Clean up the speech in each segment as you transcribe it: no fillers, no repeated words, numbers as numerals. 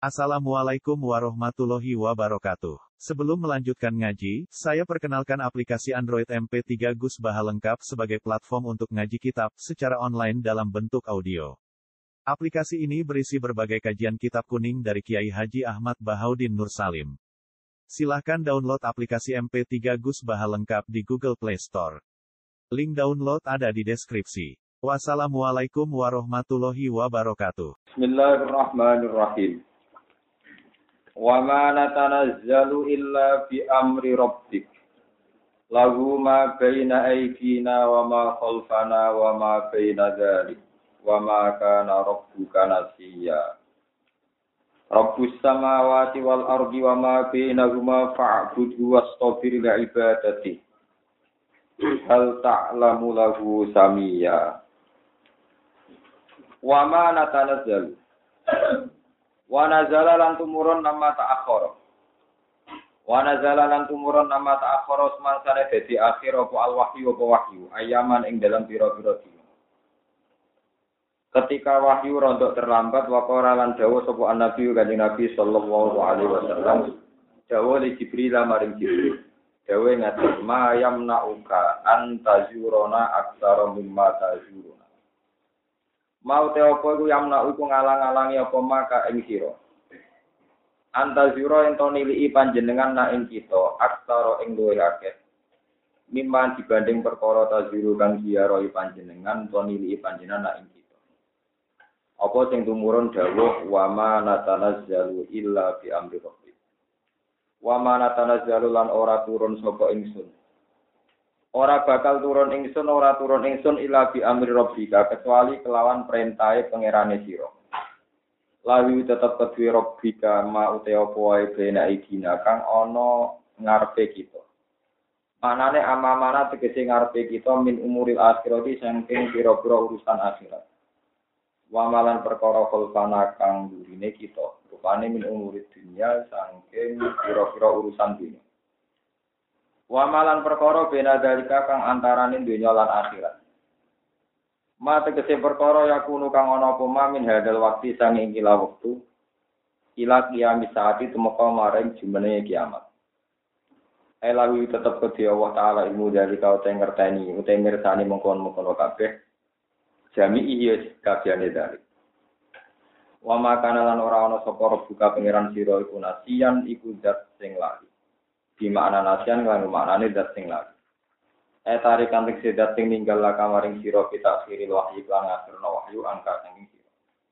Assalamualaikum warahmatullahi wabarakatuh. Sebelum melanjutkan ngaji, saya perkenalkan aplikasi Android MP3 Gus Baha lengkap sebagai platform untuk ngaji kitab secara online dalam bentuk audio. Aplikasi ini berisi berbagai kajian kitab kuning dari Kiai Haji Ahmad Bahaudin Nur Salim. Silahkan download aplikasi MP3 Gus Baha lengkap di Google Play Store. Link download ada di deskripsi. Wassalamualaikum warahmatullahi wabarakatuh. Bismillahirrahmanirrahim. Wa ma natanazzalu illa bi amri rabbik. Lahu ma baina aydina wa ma khalfana wa ma baina dzalik. Wa ma kana rabbuka nasiya. Rabbus samawati wal ardi wa ma bainahuma fa'budhu wastabir li ibadati. Hal ta'lamu lahu samia. Wa ma natanazzalu. Wa nazala lan tumurun nama ta'akhara. Wa nazala lan tumurun nama ta'akhara semangsane dadi akhir apa al-wahyu apa wahyu ayaman ing dalam pira-pira dina. Ketika wahyu rontok terlambat waqara lan dawuh sapa Nabi Kanjeng Nabi sallallahu alaihi wasallam dawuh li Jibril maring Jibril. Dawuh ngaten ma yamna'uka antazuruna aktsara mimma tazuruna. Mau te apa iku yamna iku ngalang-alangi apa maka ing sira. Antazira ento niliki panjenengan na ing kita aksara ing luwih akeh. Mimman dibanding perkara taziru kang diaroi panjenengan to niliki panjenengan na ing kita. Apa sing tumurun dawuh wa ma natanazzalu illa bi amri rabbik. Wa ma natanazzalu lan ora turun sapa ingsun. Ora bakal turun ingsun ila bi amri rabbika kecuali kelawan perintahe pangerane sira. Lawi tetep kedue rabbika ma uta apa wae bena idina kang ana ngarepe kita. Manane amamana tegese ngarepe kita min umuril akhirati saking pira-pira urusan akhirat. Wa malan perkara kholfana kang durine kita, rupane min umurid dunya saking pira-pira urusan dunya. Wa malan perkara bena dalika kang antaraning donya lan akhirat. Ma tegese perkara yakunu kang ana apa min hadal waktu sange kila wektu ila kiamat saati tumeka maring jumene kiamat. Elawi tetep kedhi Allah taala ilmu dalika utahe ngerteni utahe mirsani mengkon-mengkon kabeh jami iya kabehane dalik. Wa makana lan ora ana sapa buka pangeran sira iku nasian iku zat sing lali. Di makna nasian lan maknane zat sing lali. Tarikan tekse zat sing ninggal la kamaring sira kita akhiril wahyu lan akhirna wahyu angka saking sira.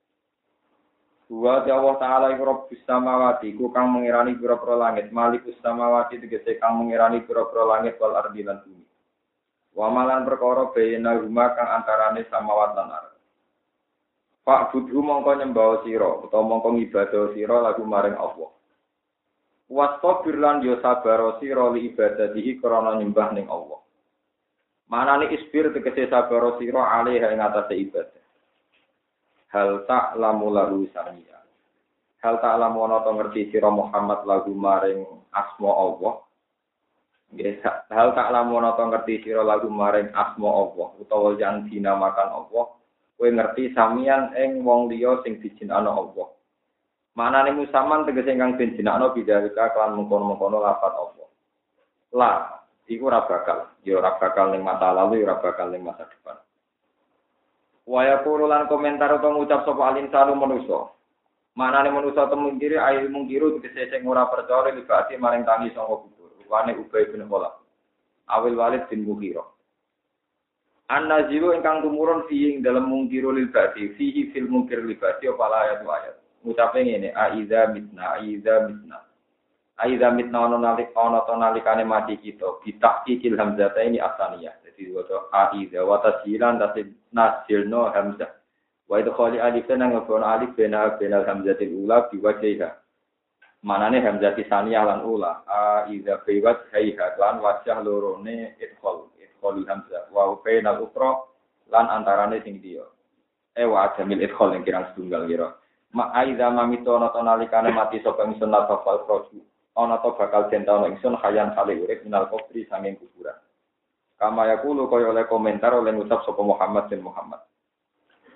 Wa Allah taala iku Rabbus samawati ku kang mengirani pira-pira langit, Malikus samawati tegese kang mengirani pira-pira langit wal ardi lan bumi. Wa malan perkara bayna huma kang antarane samawat lan ardh. Pak budhu mongko nyembah sira utawa mongko ngibadah sira lagu maring Allah. Wastabir lan yo sabar sira li ibadatihi krana nyembah ning Allah. Manane isbir tegese sabar sira alih ing atase ibadah. Hal ta'lamu lahu samia. Hal ta'lamu ana to ngerti sira Muhammad lagu maring asma Allah. Nggih, hal ta'lamu ana to ngerti sira lagu maring asma Allah utawa yang dinamakan Allah. Kowe ngerti samian ing wong liya sing dijinakno Allah. Manane musaman tegese ingkang den jinakno bidalika kelan mengkono-mengkono lafaz Allah. La, iku ora bakal, ya ora bakal ning masa lalu, ya ora bakal ning masa depan. Waya kurulan komentar utawa ngucap sapa alinsanu manusa. Manane manusa temungkiri ail mungkiru tegese sing ora percaya libati maring tangi saka kubur. Rupane Ubay bin Khalaf. Awil Walid bin Mughirah. An-nazilu ingkang tumurun fi ing dalem mungkiru libati, fihi fil mungkir libati apa ayat. Ngucape ngene aiza mitna aiza mitna ono nalikane mati kita bitaqqiqil hamzah ini asaniyah dadi waca aiza wa tasjilan tasib nasilno hamzah wa idkhali alif nang nggon alif benal hamzatil ula biwajhiha manane hamzah tisaniyah lan ula aiza biwat hayha lan wajah lorone idkhali hamzah wa bainal ukra lan antarane sing dia wa jamil idkhal ing kirang setunggal kira ma'aiza mamito ana to nalikane mati sapa ingsun lafal proju ana to bakal dentano ingsun hayan kali urip minal kubri sanging kuburan kama yaqulu kaya oleh komentar oleh ngucap sapa Muhammad bin Muhammad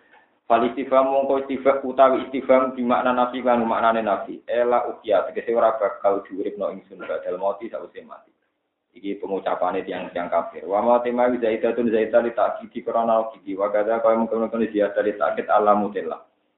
Fal istifham mongko istifham utawi istifham di makna nafi kan maknane nafi. Ela ukia tegese ora bakal diuripno ingsun badal mati sawise mati. Iki pengucapane tiyang kafir. Wa ma tema zaidatun zaita li ta'kidi krana kidi wa kadza kaya mungkin ziyada li ta'kid alamutilla.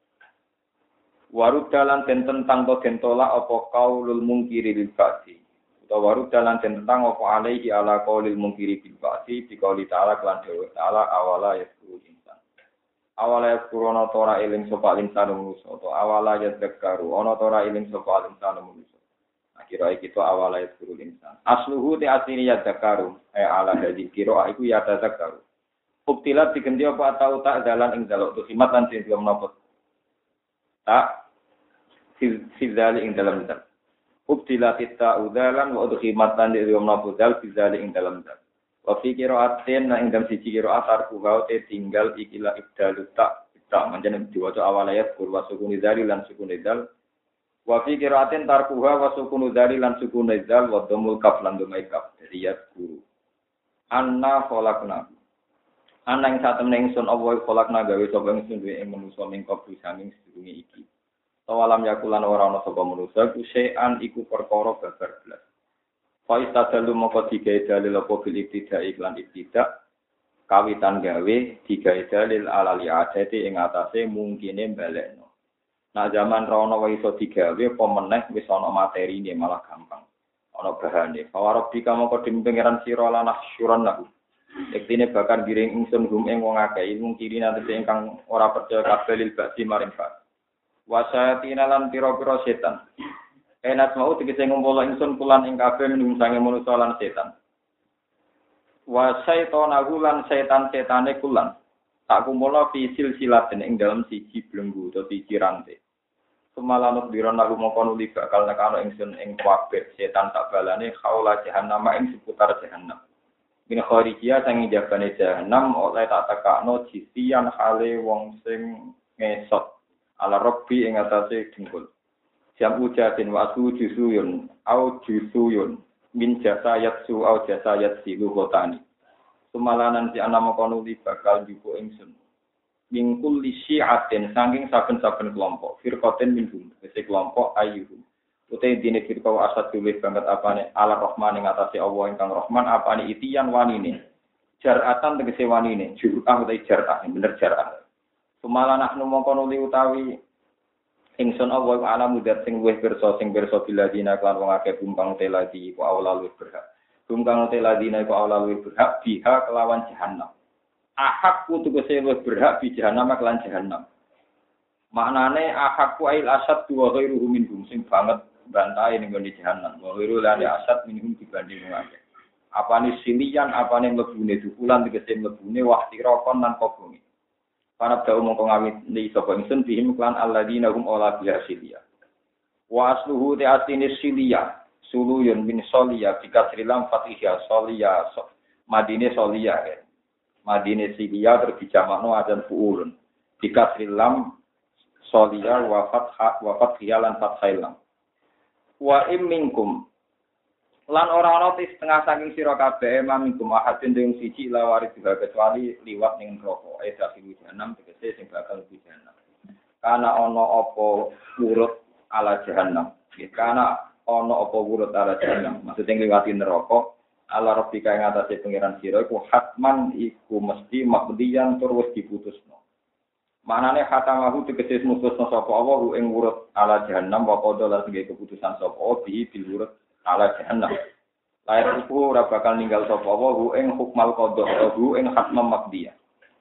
Warud dalan den tentang to den tolak apa qaulul mungkiri bil ba'si. Utawa warud dalan den tentang apa alaihi ala qaulil mungkiri bil ba'si dikauli ta'ala lan dewe ta'ala awala yasuru insan. Awala yasuru ana tora eling sapa insan manusa utawa awala yadzakaru ana tora eling sapa insan manusa. Kira kita awalnya turun insan. Asluhu te asli yadzakaru. Ala hadil kira iku yadzakaru. Ubtilat diganti apa atau tak dalan ing dalok tu khimat lan sing menapa. Tak fizali ing dalam dal. Ubtilat ta udalan wa udkhimat lan di menapa dal fizali ing dalam dal. Wa fi qira'atin na ing dalam siji qira'at arkuha te tinggal ikilah ibdalu tak manjane diwaca awalnya kurwa sukun dari lan sukun dal. Wa fi qira'atin tarkuha wa sukunu dzali lan sukun dzal wa dhammul kaf lan dhamai kaf riyat guru anna khalaqna ana ing satemene ingsun apa khalaqna gawe sapa ingsun duwe ing manusa ning kabeh sanging sedurunge iki tawalam yakulan ora ana sapa manusa kusean iku perkara babar blas fa istadalu moko digawe dalil apa bil ibtida iklan ibtida kawitan gawe digawe dalil alali adate ing atase mungkine balekno. Nah zaman rono wae iso digawe apa meneh wis ana materine malah gampang. Ana bahane. Fawarabika mongko dimpengeran sira lan asyuran lahu. Ektine bakar giring ingsun hum ing wong akeh ilmu kiri nanti ingkang ora percaya kabeh lil ba'si maring fa. Wasayatina lan pira-pira setan. Enat mau tegese ngumpul ingsun kulan ing kabeh menungsange manusa lan setan. Wasaitona lan setan-setane kulan. Tak kumpulna fi silsilatin ing dalam siji belenggu utawa siji rantai. Semalanut diron lagu mongko nuli bakal nekano ingsun ing kabeh setan tak balane khaula jahannam ing seputar jahannam. Min kharijia sang jabane jahannam oleh tak tekakno jisian hale wong sing ngesot ala rabbi ing atase dengkul. Jam ujatin wasu jusuyun au jusuyun min jasayat su au jasayat silu hotani. Sumalanan si ana mongko nuli bakal jupo ingsun. Mingkul li syi'atin saking saben-saben kelompok firqatin minhum wis kelompok ayyuhum utai dene firqa asad luwih banget apane ala rahman ing atase Allah ingkang rahman apane itian wanine jaratan tegese wanine jur'ah utai jar'ah bener jar'ah sumalana nu mongko nuli utawi ingsun Allah ala mudat sing luwih pirsa biladina lan wong akeh bumbang teladi ku awla luwih berhak bumbang teladina ku awla luwih berhak biha kelawan jahannam. Ahakku tegese luwih berhak bi jahannam lan jahannam. Maknane ahakku ail asad wa ghairuhu minhum sing banget bantahe ning ngene jahannam. Wa ghairu lan asad minhum dibanding akeh. Apane silian, apane mlebune dukulan tegese mlebune wahtirokon lan kobongi. Para dawuh mongko ngawit li sapa ingsun bihim lan alladzina hum ala biasilia. Wa asluhu ta'atini silia suluyun min soliya bikasrilam fatihya soliya madine soliya ya. Madine silia terbijamakno adan fuulun. Bikasrilam soliya wa fathha lan fathailam. Wa minkum lan ora ana setengah saking sira kabeh mamingkum ahadin ing siji lawari juga kecuali liwat ning neraka. Eda sing jahanam tegese sing bakal mlebu jahanam. Kana ana apa urut ala jahanam. Kana ana apa urut ala jahanam. Maksudnya liwati neraka. Allah Rabbika ing atase pangeran sira iku hatman iku mesti makdiyan tur wis diputusno. Manane hatamahu tegese mutusno sapa Allah ing urut ala jahannam wa qada lan sing keputusan sapa bi bil urut ala jahannam. Lair iku ora bakal ninggal sapa Allah ing hukmal qada ing hatmam makdiyah.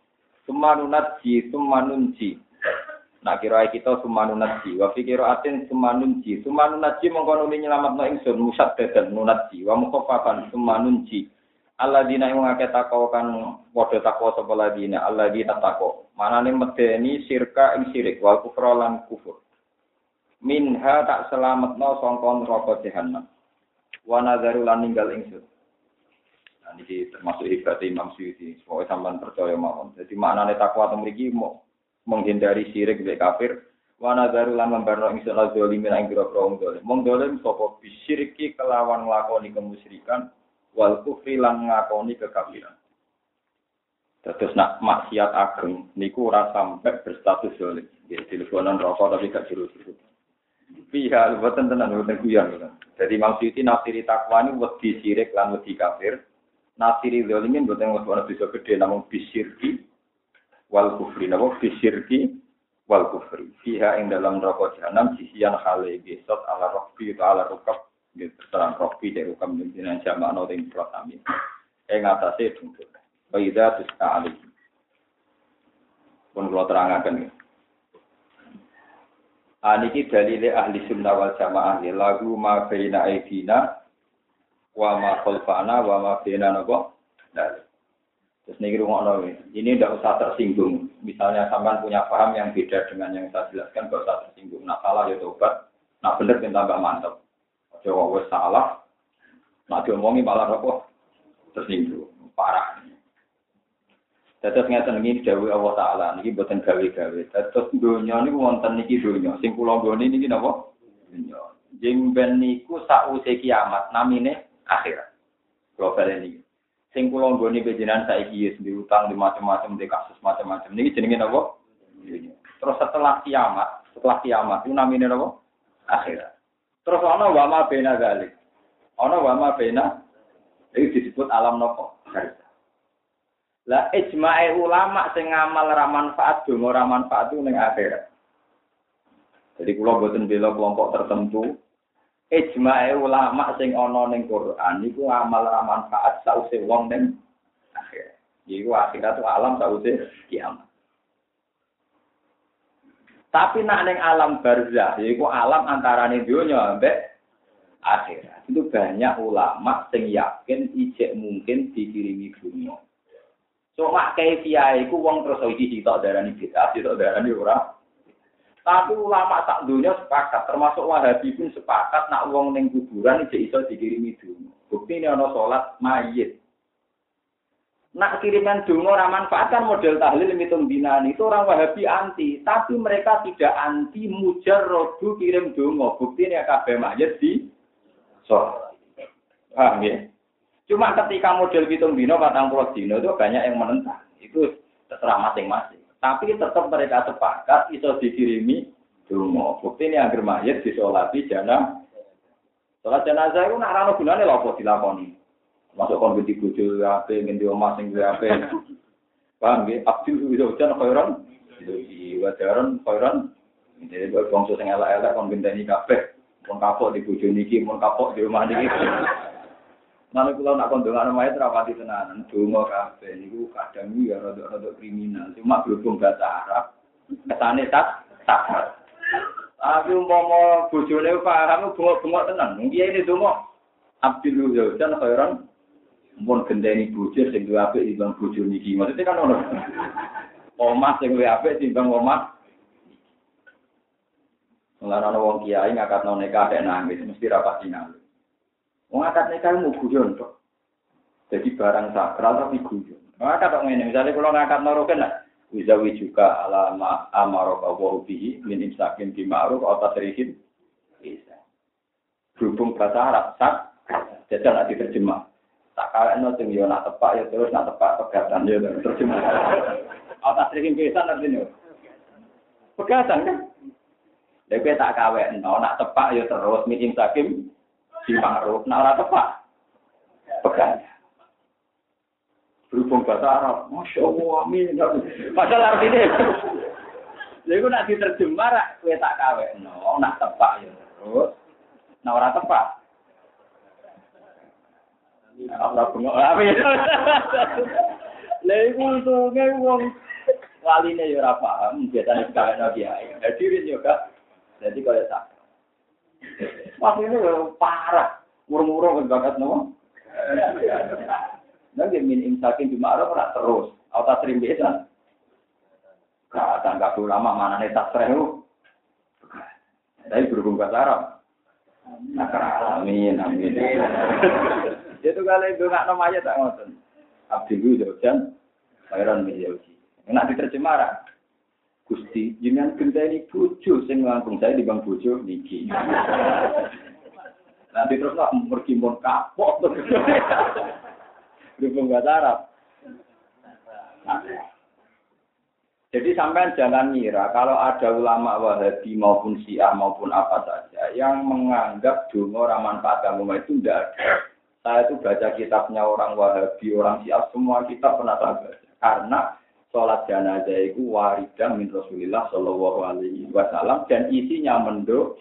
Sumanunji. Nak kira kita sumanunji wa fikira atin sumanunji mongko nuli nyelametno ingsun musaddadan nunji wa mukhafafan sumanunji alladzina ing ngake takwa kan padha takwa sapa ladina alladzina takwa manane medeni sirka ing sirik wal kufra lan kufur minha tak selametno sangka neraka jahanam wa nadzaru lan ninggal ingsun. Nah iki termasuk ibadah Imam Suyuti supaya sampean percaya mawon. Dadi maknane takwa teng mriki menghindari syirik mek kafir wa nadzaru lan membarno ingsun zalimin ing pira-pira wong zalim. Wong zalim sapa bisyiriki kelawan nglakoni kemusyrikan wal kufri lan ngakoni kekafiran. Terus nak maksiat ageng niku ora sampai berstatus zalim. Nggih, teleponan rokok tapi gak jero-jero. Pihak boten tenan boten guyon. Jadi maksudnya nafsiri takwa ini wedi syirik lan wedi kafir. Nafsiri zalimin boten ono bisa gede namung bisyirki wal kufri. Napa bisyirki wal kufri. Pihak ing dalam rokok jahanam sisian khale gesot ala rokbi atau ala rukab. Terang rokbi dari rukab pimpinan jamakno ing plot amin. Ing atase dungkul. Baida tuska alih. Pun kula terangaken. Aniki dalile ahli sunnah wal jamaah lagu ma baina aidina wa ma khalfana wa ma baina napa. Terus niki rungokno ini ndak usah tersinggung. Misalnya sampean punya paham yang beda dengan yang saya jelaskan, enggak usah tersinggung. Nak salah ya tobat, nak bener ben tambah mantep. Aja kok wis salah, nak diomongi malah apa tersinggung, parah. Terus ngeten iki dawuh Allah Taala niki boten gawe-gawe. Terus donya niku wonten niki donya. Sing kula nggone niki napa? Donya. Jeng ben niku sause kiamat namine akhirat. Kula baleni. Sing kula nggone panjenengan saiki wis diutang di macam-macam di kasus macam-macam. Niki jenenge napa? Donya. Terus setelah kiamat itu namine napa? Akhirat. Terus ana wa ma bena zalik. Ana wa ma bena iki disebut alam napa? Akhirat. Lah ijmae ulama sing ngamal ra manfaat donga ra manfaat ning akhirat. Jadi kula boten bela kelompok tertentu. Ijmae ulama sing ana ning Quran niku amal ra manfaat sause wong ning akhirat. Iku akhirat alam sause kiamat. Tapi nak ning alam barzah yaiku alam antarane donya ambek akhirat. Itu banyak ulama sing yakin ijek mungkin dikirimi dunya. Cuma kaifiah iku wong terus iki sitok darani bid'ah, sitok darani ora. Tapi ulama sak dunya sepakat, termasuk Wahabi pun sepakat nak wong ning kuburan iki iso dikirimi donga. Buktine ana salat mayit. Nak kiriman donga ora manfaat kan model tahlil mitung dinan itu orang Wahabi anti, tapi mereka tidak anti mujarradu kirim donga. Buktine kabeh mayit di salat. Paham ya? Cuma ketika model hitung dino, 40 dino itu banyak yang menentang. Itu terserah masing-masing. Tapi tetap mereka sepakat iso dikirimi donga. Bukti ini agar mayit disolati jenazah. Salat jenazah itu nak ana gunane lha apa dilakoni. Masuk kon genti bojo ape ngendi omah sing ape. Paham nggih? Abdul Hujan khairan. Iki wajaran khairan. Jadi bangsa sing elek-elek kon genteni kabeh. Mun kapok di bojo niki, mun kapok di omah niki. Mana kula nak kondongan mayit rapati tenanan, donga kabeh niku kadang ya rada kriminal. Cuma berhubung bahasa Arab, kesane tak. Tapi umpama bojone paham bengok-bengok tenan. Nggih ini donga Abdul Hujan khairan mun gendeni bojo sing duwe apik timbang bojo niki. Maksudnya kan ono. Omah sing duwe apik timbang omah. Mulane ana wong kiai ngakatno nikah nek nangis mesti rapati nangis. Wong akad nikah mu guyon tok. Jadi barang sakral tapi guyon. Maka tok ngene, misale kula ngakad noroken lah. Wizawi juga ala amarok Allah bihi min imsakin bi ma'ruf atau tasrihin. Bisa. Berhubung bahasa Arab sak, jajal nak diterjemah. Tak kalekno sing yo nak tepak ya terus nak tepak pegatan yo terjemah. Atau tasrihin bisa artinya. Pegatan kan? Lek tak kawekno nak tepak ya terus min imsakin di ma'ruf, nak ora tepak. Pegang. Berhubung bahasa Arab, Masya Allah, amin. Padahal artinya, jadi nak diterjemah, kue tak kawin, nak tepak ya terus, nak ora tepak. Allah bengok, amin. Lalu untungnya wong walinya ya ora paham, biasanya kawin lagi ya, hadirin juga, jadi kalau tak. Maksudnya parah, murung-murung bakat no. Nanti min imsakin di ma'ruf ora terus, auta sering bisa. Enggak ulama mana nih tak seru. Tapi berhubung bahasa Arab. Amin. Itu kalau itu nggak namanya tak ngoten. Abdul Hujan, Khairan Mijauji. Nak diterjemah Gusti, jenengan genteni bojo sing langkung saya di bang bojo niki. Nanti terus lah pergi mon kapok. Berhubung bahasa Arab. Jadi sampai jangan ngira kalau ada ulama Wahabi maupun Syiah maupun apa saja yang menganggap donga ora manfaat agama itu tidak ada. Saya itu baca kitabnya orang Wahabi, orang Syiah, semua kitab pernah saya baca. Karena sholat jenazah itu waridah min Rasulillah Shallallahu Alaihi Wasallam dan isinya menduk.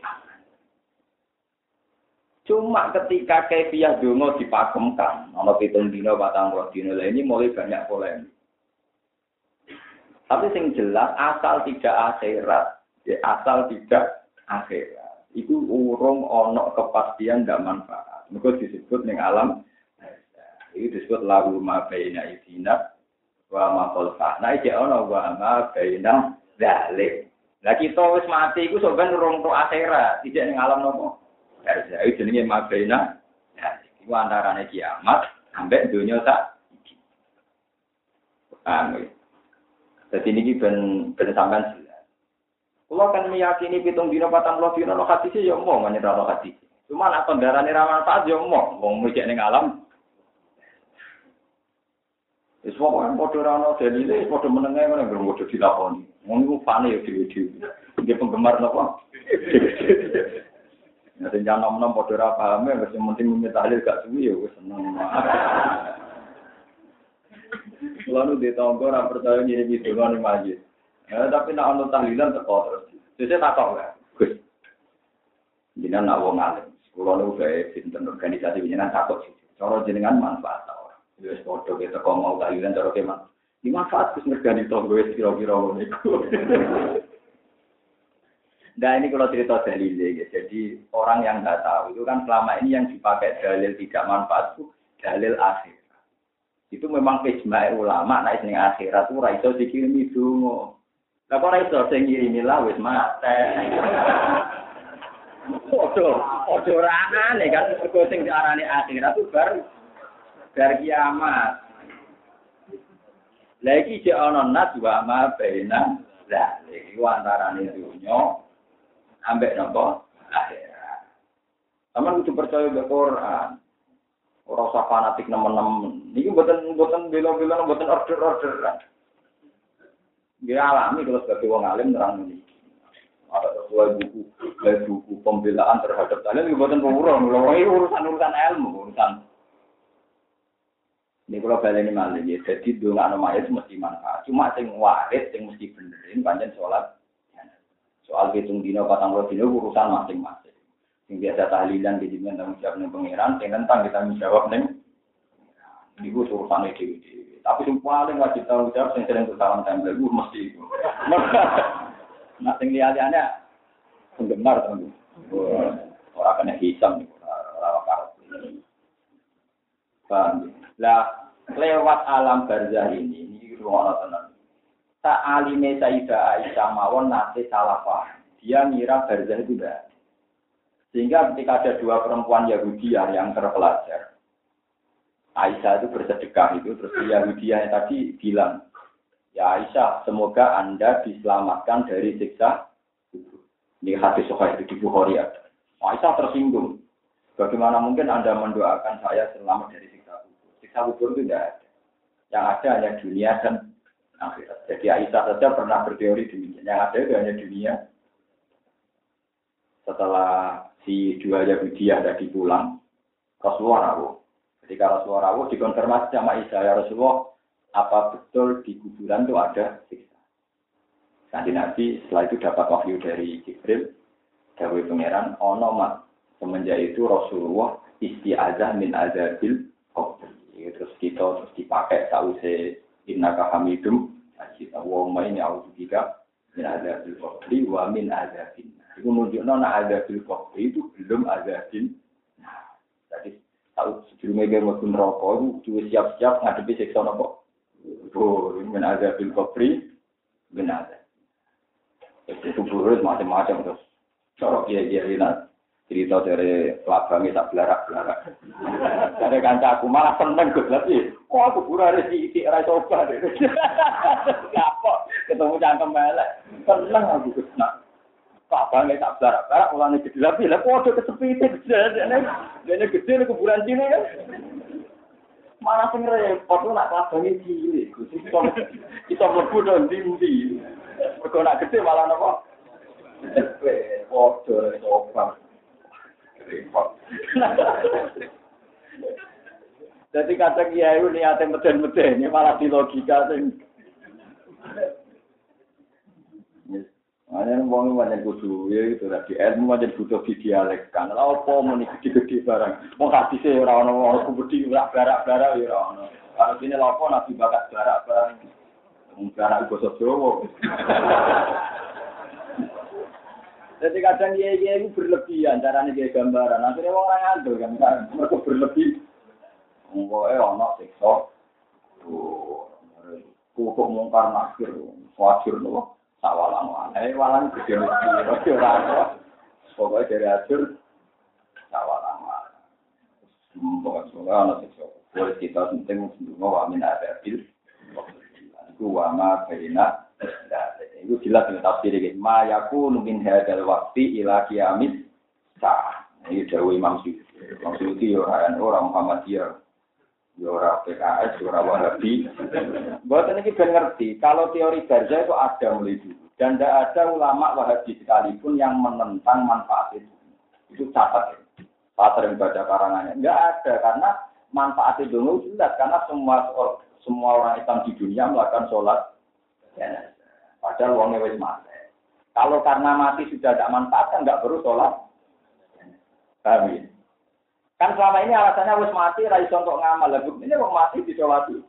Cuma ketika kaifiah donga dipakemkan, ana 7 dina 40 dina ini mulai banyak polemik. Tapi sing jelas asal tidak akhirat, ya asal tidak akhirat. Itu urung ono kepastian ndak manfaat. Mergo disebut ning alam itu disebut lahu ma baina idina wa ma khalfana. Iki ono wa ma baina zalik. Lah kita wis mati iku sampeyan urung tok akhirat, tidak ning alam nopo? Ya itu jenenge ma baina. Ya iku antarane kiamat ambek donya sak iki. Amin. Jadi ini ben sampean jelas. Kalau kan meyakini 7 dina 40 dina lo hadis ya omong menyerah lo hadis. Cuma nak kendaraan ra manfaat ya omong mikir ning alam. Wis pokoke padha ra ono dalile, padha menenge ngene nggo padha dilakoni. Wong iku fane ya dhewe-dhewe. Dia penggemar napa? Nek jangan nom-nom padha ra paham ya wis penting mimpi tahlil gak suwi ya wis seneng. Lalu di tonggo orang percaya ngirim itu kan di masjid. Tapi nak untuk tahlilan teko terus. Jadi takok lah. Gus. Jenengan nak wong alim. Kulo nu gawe sinten organisasi jenengan takok sih. Cara jenengan manfaat ta ora. Wis padha ke teko mau tahlilan cara ke man. Di manfaat Gus mergani tonggo wis kira-kira ngono iku. Nah ini kalau cerita dalil ya. Jadi orang yang nggak tahu itu kan selama ini yang dipakai dalil tidak manfaat itu dalil akhir. Itu memang ijma' ulama nek ning akhirat ora iso dikirimi donga. Lah kok ora iso sing ngirimi lah wis mate. Ojo ora aneh kan mergo sing diarani akhirat itu bar kiamat. Lah iki jek ana nas wa ma baina lah iki antarane dunya ambek napa akhirat. Sampeyan kudu percaya mek Quran. Ora usah fanatik nemen-nemen. Niki mboten bela-bela mboten order-orderan. Nggih alami kalau sebagai wong alim nerang niki. Ada sesuai buku pembelaan terhadap kalian mboten pemurung. Lha urusan ilmu, urusan. Ini kalau baleni malih ya, jadi dongakno mayit mesti manfaat. Cuma sing waris sing mesti benerin pancen salat. Soal 7 dina 40 dina urusan masing-masing. Yang biasa tahlilan di dimen tanggung jawab ning pangeran, sing tentang kita menjawab ning niku urusane dhewe-dhewe. Tapi sing paling wajib tanggung jawab sing sering salam tempel iku mesti iku. Nah sing liyane penggemar to. Ora kena hisam niku, ora karep. Paham. Lah lewat alam barzah ini ruang tenan. Tak alime Sayyidah Aisyah mawon nate salah paham. Dia ngira barzah itu enggak. Sehingga ketika ada 2 perempuan Yahudiyah yang terpelajar, Aisyah itu bersedekah itu, terus Yahudiyah tadi bilang, ya Aisyah, semoga Anda diselamatkan dari siksa kubur. Ini hadis Sahih di Bukhari ada. Aisyah tersinggung. Bagaimana mungkin Anda mendoakan saya selamat dari siksa kubur? Siksa kubur itu tidak ada. Yang ada hanya dunia dan akhirat. Jadi Aisyah saja pernah berteori demikian. Yang ada itu hanya dunia. Setelah si 2 Yahudiyah tadi pulang, Rasulullah rawuh. Ketika Rasulullah rawuh dikonfirmasi sama Aisyah, ya Rasulullah, apa betul di kuburan itu ada siksa? Nanti Nabi setelah itu dapat wahyu dari Jibril, dawuh pangeran, ono mat semenjak itu Rasulullah isti'adzah min azabil qabr. Terus kita terus dipakai sause innaka hamidum, kita wa ma ini auzubika min azabil qabr wa min azabin. Itu menunjukkan azabil qabr itu belum azabin. Nah, jadi tahu sebelumnya dia mau rokok itu siap-siap ngadepi siksa nopo. Oh, min azabil qabr benar. Itu buruk macam-macam terus. Corok dia lihat cerita dari pelabangnya tak belarak-belarak. Dari kanca aku malah seneng gue lagi. Kok aku pura rezeki rai coba deh. Ngapa? Ketemu cangkem melek. Seneng aku kesana. Pelabangnya tak belarak-belarak. Ulangnya gede lagi. Lah kok ada kesepitan. Ini gede kuburan sini kan. Malah sing repot lu nak klabange cilik. Gusti kita mlebu nang ndi. Mergo nak gede malah napa? Waduh, sopan. Repot. Jadi kadang kiai itu niatnya meden-meden, ini malah di logika sing. Makanya wong banyak kudu ya itu tadi ilmu aja butuh didialekkan. Lah apa muni gede-gede barang. Wong hadise ora ono wong kubedi ora barak-barak ya ora ono. Kalau dene lapo nabi bakat barak barang. Wong barak basa Jawa. Jadi kadang kiai itu berlebihan carane kiai gambaran. Akhirnya wong ora ngandel kan mergo berlebih. Wong ana siksa. Kok mungkar nakir wajir lho. Sawalang walang gede mesti ora ana. Pokoke dari ajur sawalang. Pokoke ana siksa. Kuwi kita penting ndonga wa min abil. Iku wa ma baina. Itu jelas dengan tafsir iki. Ma yakunu min hadzal waqti ila qiyamis sa'ah. Ini dawuh Imam Suyuti. Imam Suyuti orang Muhammadiyah. Ya ora PKS, ora Wahabi. Mboten iki ben ngerti, kalau teori Barzah itu ada mulai dulu. Dan tidak ada ulama Wahabi sekalipun yang menentang manfaat itu. Itu catat ya. Saya sering baca karangannya. Enggak ada, karena manfaat itu jelas. Karena semua orang Islam di dunia melakukan sholat. Ya, padahal wongnya wis mati. Kalau karena mati sudah tidak manfaat, kan nggak perlu sholat. Paham ya? Kan selama ini alasannya wis mati, ra iso kok ngamal. Lah ini wong mati disolati.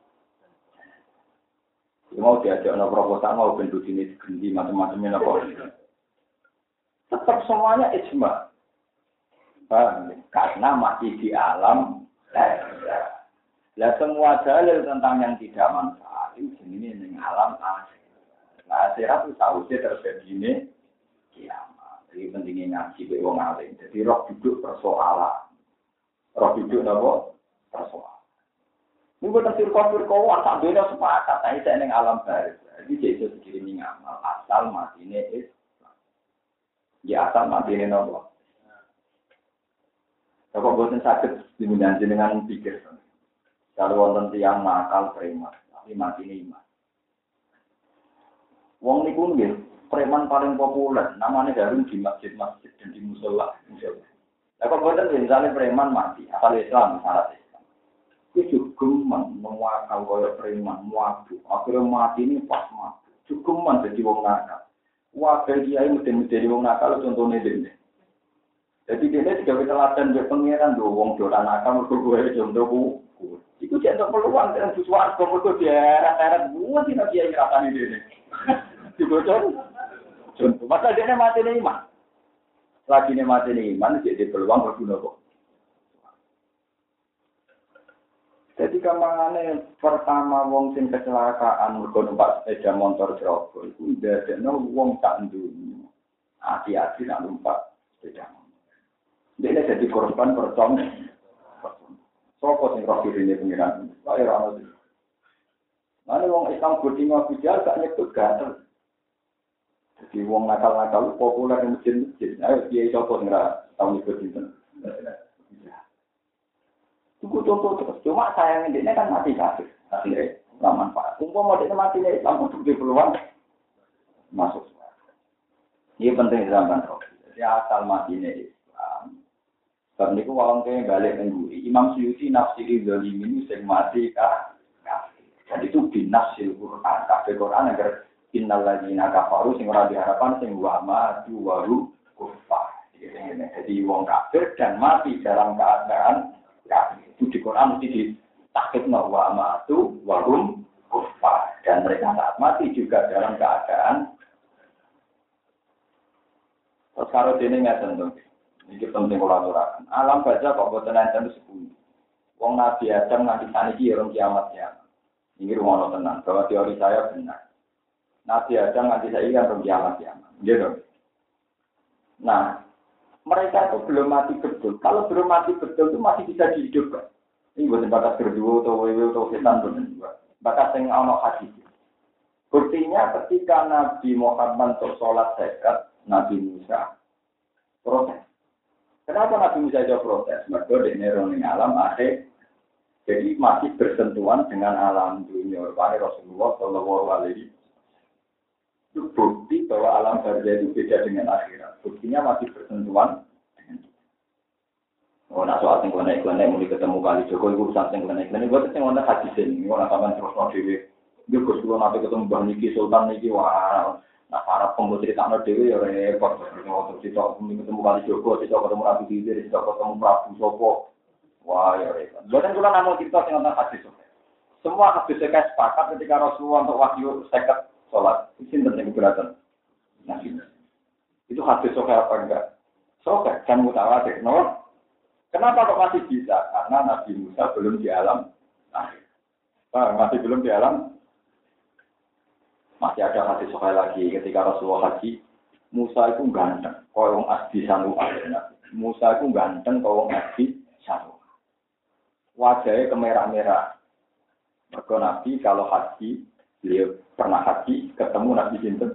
Mau diajak no proposal mau bentuk ini digendi macam-macamnya apa. Tetap semuanya ijma. Karena masih di alam lahir. Lah semua dalil tentang yang tidak manfaat itu jenenge ning alam akhir. Nah, akhirat itu sausé terjadi ini kiamat. Jadi pentingnya ngaji be wong alim. Jadi roh duduk persoalan. Roh duduk napa? Persoalan. Ini bukan firqah-firqah tak beda sepakat. Tapi saya ning alam baris. Jadi jadi sekiranya ngamal asal matine Islam. Ya asal matine napa? Kalau bosan sakit diminati dengan pikir. Kalau wonten tiyang nakal preman, tapi matine iman. Wong niku nggih preman paling populer. Namanya Darun di masjid-masjid dan di musola. Lah kok boten misalnya preman mati, asal Islam syarat Islam. Itu cukuman mewakal kaya preman, mabuk. Akhirnya mati ini pas mabuk. Cukuman jadi wong nakal. Wakil kiai mesti wong nakal contohnya dene. Jadi dia juga teladan dia pengiran do wong dolan nakal mergo gue contohku. Iku jeneng peluang dengan suwarga mergo diarat-arat buat dina kiai rasane dene. Dibocor. Contoh masa dia mati nih iman. Lagi nih mati nih iman jadi peluang berguna kok. Jadi kamane pertama wong sing kecelakaan mergo numpak sepeda motor Jogja iku ndadekno wong tak ndunyu. Hati-hati nak numpak sepeda motor. Dia jadi korban percong. Sopo sing roh dirine pengiran. Wae ora ono. Mane wong Islam bodingo bujal gak nyebut gatel. Jadi wong nakal-nakal populer di masjid-masjid. Ayo kiai sopo sing ora tau nyebut dinten. Cukup contoh terus. Cuma sayangnya dia kan mati kafir. Akhirnya nggak manfaat. Umpama dia mati nih Islam untuk di peluang masuk. Ini penting zaman roh. Jadi asal mati nih Islam. Karena itu orang yang balik mengguri. Imam Suyuti nafsiri zalimin sing mati kafir. Jadi itu binafsil Quran. Kafir Quran agar innal ladzina kafaru sing ora diharapkan sing wa matu waru kufar. Jadi wong kafir dan mati dalam keadaan kafir. Itu di Quran mesti ditakhidna wa matu warum kufar. Dan mereka saat mati juga dalam keadaan. Terus kalau dene ngaten to. Iki penting kula aturaken. Alam baca kok boten enten sepuluh. Wong Nabi Adam nganti saniki ya kiamat ya. Ini rumono tenang, bahwa teori saya benar. Nabi Adam nganti saiki kan kiamat ya. Nggih. Nah, mereka itu belum mati betul. Kalau belum mati betul itu masih bisa dihidupkan. Ini bukan bakat berdua atau wewe atau setan benar. Bakat yang ono hadis. Buktinya ketika Nabi Muhammad untuk sholat zakat, Nabi Musa protes. Kenapa Nabi Musa jauh protes? Mereka di neroni alam akhir. Jadi masih bersentuhan dengan alam dunia. Karena Rasulullah Shallallahu Alaihi itu bukti bahwa alam barzah itu beda dengan akhirat. Buktinya masih bersentuhan. Oh, nak soal yang klenek-klenek mulai ketemu kali Joko itu urusan yang klenek-klenek. Buat yang mana hadis ini, orang sampai terus mau dewi. Dia bersuara nanti ketemu Bang Niki Sultan Niki wah. Nah, para pembuat cerita no dewi ya repot. Waktu cerita ketemu kali Joko, cerita ketemu Nabi Khidir, cerita ketemu Prabu Sopo. Wah ya repot. Bukan kalau namun cerita tentang hadis. Semua hadis saya sepakat ketika Rasulullah untuk wahyu seket sholat. Itu penting keberatan. Nah, itu hadis sokai apa enggak? Sokai kan mutawatir, no? Kenapa kok masih bisa? Karena Nabi Musa belum di alam akhir. Masih belum di alam. Masih ada hadis sekali lagi ketika Rasulullah haji. Musa itu ganteng. Kalau asdi sanu akhirnya. Musa itu ganteng kalau asdi sanu. Wajahnya kemerah-merah. Mergo Nabi kalau haji, beliau pernah haji ketemu Nabi Sinten.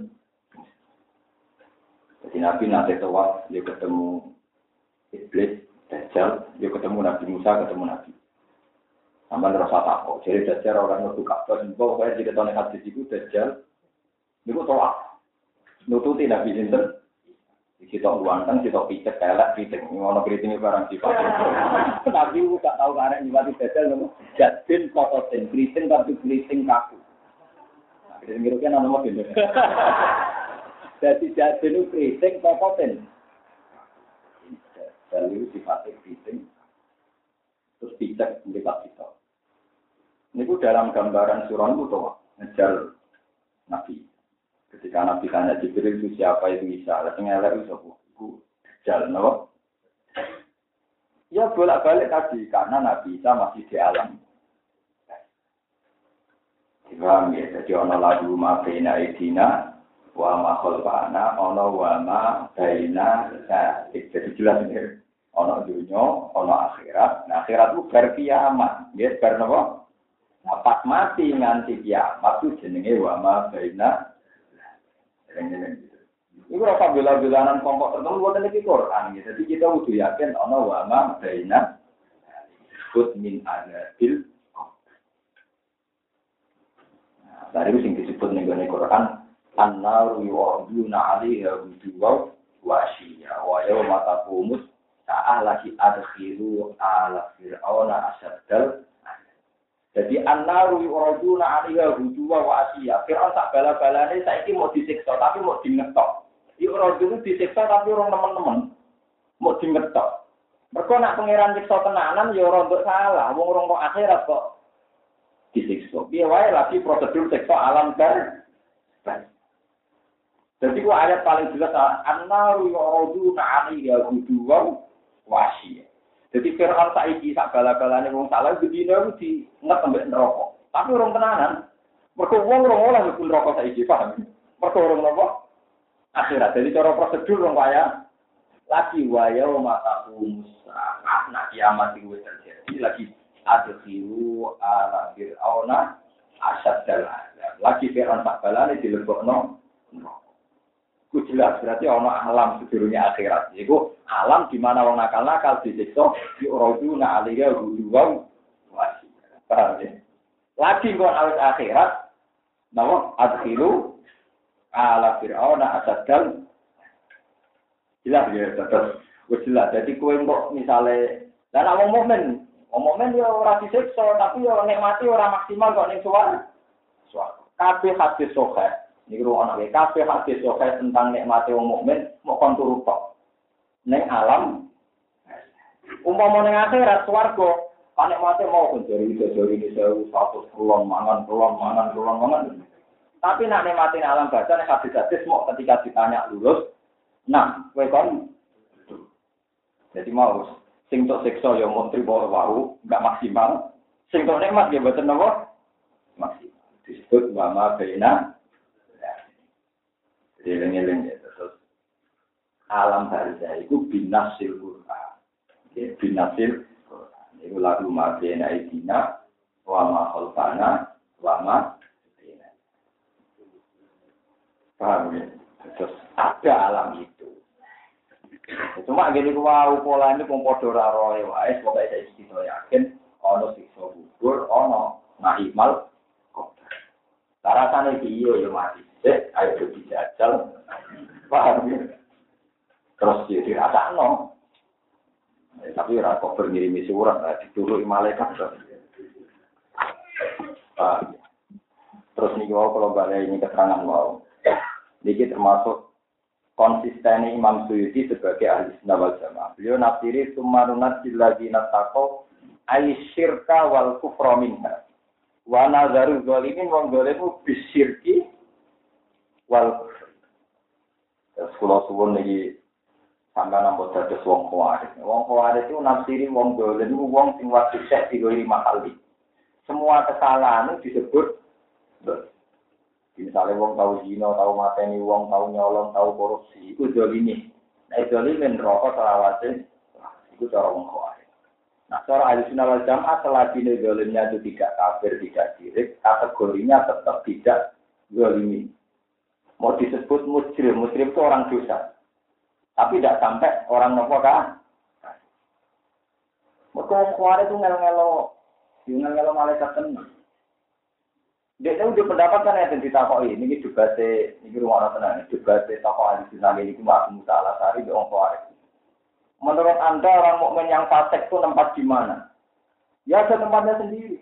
Jadi Nabi nanti tawaf dia ketemu Iblis. Dajjal, dia ketemu Nabi Musa, ketemu Nabi. Sampai rasa takut. Jadi Dajjal orang yang buka Bahwa saya tidak tahu hadis itu Dajjal. Itu tolak. Nututi Nabi Sinten. Kita uangkan, kita picek, kelek, piting. Ini kriting barang sifat. Nabi tak tahu karena nyibati Dajjal. Jadin, kototin. Kriting, tapi kriting kaku. Kriting itu kan nama bener. Jadi jadin itu kriting, kototin. Lalu sifatnya kriting, terus pijak mereka kita. Ini pun dalam gambaran surah itu tuh ngejar Nabi. Ketika Nabi tanya Jibril itu siapa itu Isa, lalu ngelak itu jalan, no? Ya bolak-balik tadi karena Nabi Isa masih di alam. Paham ya? Jadi ono lagu mafina idina, wa ma khalqana, ono wa ma baina. Jadi jelas ini. Ono dunia, ono akhirat. Nah, akhirat itu bar kiamat. Dia bar napa? Nah, pas mati nganti kiamat itu jenenge wa ma baina. Iku ora bela-belanan kelompok tertentu boten iki Quran gitu. Jadi kita kudu yakin ono wa ma baina disebut min anabil. Nah, dari sing disebut ning Quran an-naru yu'aduna 'alaiha wujuwa wa ashiya wa yawma taqumus ta'alaki adkhiru ala fir'auna asaddal. Jadi an-naru yuraduna 'alaiha hujuwa wa asya. Fir'aun tak bala-balane saiki mau disiksa tapi mau dingetok. Yuraduna disiksa tapi orang teman-teman mau dingetok. Mergo nak pangeran siksa tenanan ya ora nduk salah, wong ora kok akhirat kok disiksa. Piye wae lagi prosedur siksa alam kan. Jadi ku ayat paling jelas an-naru yuraduna 'alaiha hujuwa wasi. Jadi Fir'aun saiki sak bala-balane wong salah bedino di nget ambek neraka. Tapi orang tenanan. Mergo wong ora oleh mlebu neraka saiki, paham? Mergo orang napa? Akhirat. Jadi cara prosedur wong kaya lagi waya mata Musa. Nah kiamat itu terjadi lagi adkhiru ala fir'auna asaddal azab. Lagi Fir'aun sak balane dilebokno neraka. Itu jelas, berarti ada alam sebelumnya akhirat. Itu alam di mana orang nakal-nakal disiksa, diuraduna 'alaiha hujuwa wasi. Paham ya? Lagi kon awet akhirat, nama adkhilu ala fir'auna asaddal. Jelas ya, terus. Jelas, jadi kowe kok misale lan wong mukmin ya ora disiksa, tapi ya nikmati ora maksimal kok ning suwarga. Kabeh hadis sahih. Ini ruang anak kafe hadis sokai tentang nikmati wong mukmin mau kontur tok. Neng alam, umpama neng akhirat swarga, nikmati mau konjori ini satu mangan. Tapi nak nikmati alam baca nek hadis mau ketika ditanya lulus, nah, kowe kon. Jadi mau sing tok siksa ya mau trimo wae, enggak maksimal. Sing tok nikmat ya mboten napa? Maksimal. Disebut wama baina Eleng-eleng ya, terus alam barzah itu binasil Quran. Ya, binasil Quran. Itu lagu ma'bena idina, wa ma khalfana, wa ma bina. Paham ya? Terus ada alam itu. Cuma gini wow, pola ini pun podo raroy, wae, pokoknya saya yakin, ono siksa gugur ana nahimal qadar. Rasane iki yo mati. Ayo dijajal. Paham ya? Terus jadi rasakno. Tapi ora kok ngirimi surat dituruti malaikat. Terus niki kalau balik ini keterangan mau. Niki termasuk konsistensi Imam Suyuti sebagai ahli sunnah wal jamaah. Beliau nafsiri sumarunat siladzina taqaw aisyirka wal kufra minha. Wa nazaru zalimin wong zalimu bisyirki wal kufr. Terus kula suwun niki sampeyan nampa dados wong khawarij. Wong khawarij itu nafsiri wong zalim wong sing wajib sek digori mahali. Semua kesalahan itu disebut misalnya wong tahu zina, tahu mateni wong, tahu nyolong, tahu korupsi, itu zalimi. Nah, zalimin rokok selawase, itu cara wong khawarij. Nah, cara ahli sunnah wal jamaah selagi zalimnya itu tidak kafir, tidak syirik, kategorinya tetap tidak zalimi. Mau disebut mujrim, mujrim itu orang dosa. Tapi tidak sampai orang nopo kan? Mereka khawarij itu ngelo malaikat tenang. Dia udah pendapat kan yang ditakoi. Ini juga ini rumah tenang. Juga tokoh ahli sunnah ini cuma Musa Al-Asy'ari di orang khawarij. Menurut Anda orang mukmin yang fasik itu tempat di mana? Ya ada tempatnya sendiri.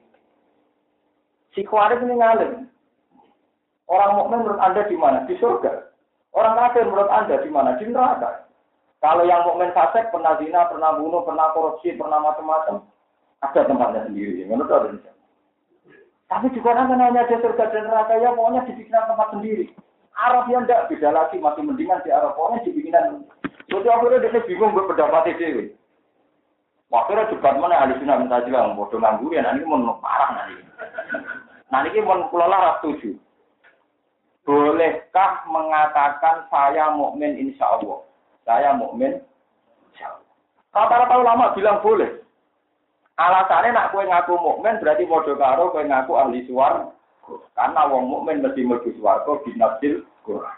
Si khawarij ini ngalim. Orang mukmin menurut Anda di mana? Di surga. Orang kafir menurut Anda di mana? Di neraka. Kalau yang mukmin fasik pernah zina, pernah bunuh, pernah korupsi, pernah macam-macam, ada tempatnya sendiri. Menurut Anda. Tapi juga kan hanya ada surga dan neraka ya pokoknya dibikinkan tempat sendiri. Arab yang tidak beda lagi masih mendingan di Arab pokoknya dibikinkan. Jadi akhirnya dia bingung berpendapat itu. Akhirnya debat mana ahli sunnah mutazilah bodoh nganggur ya nanti mau parah nanti. Nanti mau kulola setuju. Bolehkah mengatakan saya mukmin insya Allah? Saya mukmin insya Allah. Rata-rata ulama bilang boleh. Alasannya nak kowe ngaku mukmin berarti padha karo kowe ngaku ahli swarga. Karena wong mukmin mesti mlebu swarga binasil Quran.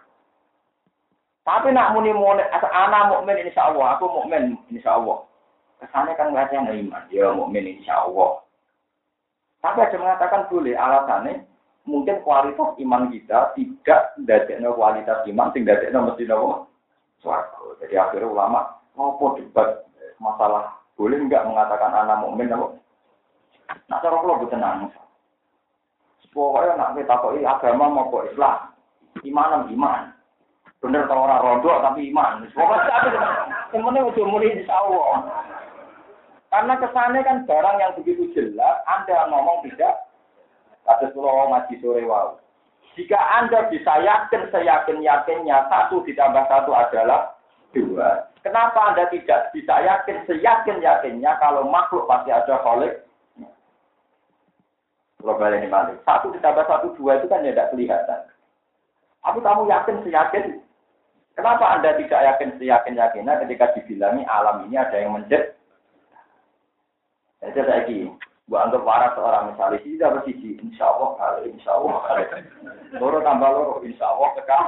Tapi nak muni ana mukmin insyaallah, aku mukmin insyaallah. Kesane kan nggak yang iman, dia mukmin insyaallah. Tapi ada mengatakan boleh alasannya mungkin kualitas iman kita tidak ndadekno kualitas iman sing ndadekno mesti nopo swarga. Jadi akhirnya ulama ngopo debat masalah boleh enggak mengatakan anak mukmin apa? Nak cara kula boten nangis. Pokoknya nak kita kok agama mau kok Islam, iman. Bener ta ora rondo tapi iman. Pokoknya semuanya udah mulai insyaallah. Karena kesannya kan barang yang begitu jelas, Anda ngomong tidak. Ada surah ngaji sore wow. Jika Anda bisa yakin seyakin-yakinnya 1 ditambah 1 adalah 2. Kenapa Anda tidak bisa yakin seyakin-yakinnya kalau makhluk pasti ada khalik? Global ini balik. 1 ditambah 1, 2 itu kan tidak kelihatan. Tapi kamu yakin seyakin? Kenapa Anda tidak yakin seyakin-yakinnya ketika dibilangi alam ini ada yang menciptakan? Jadi saya ini, buat anggap waras seorang misalnya, sih dapat sisi, insya Allah kali. Loro tambah loro, insya Allah kekal.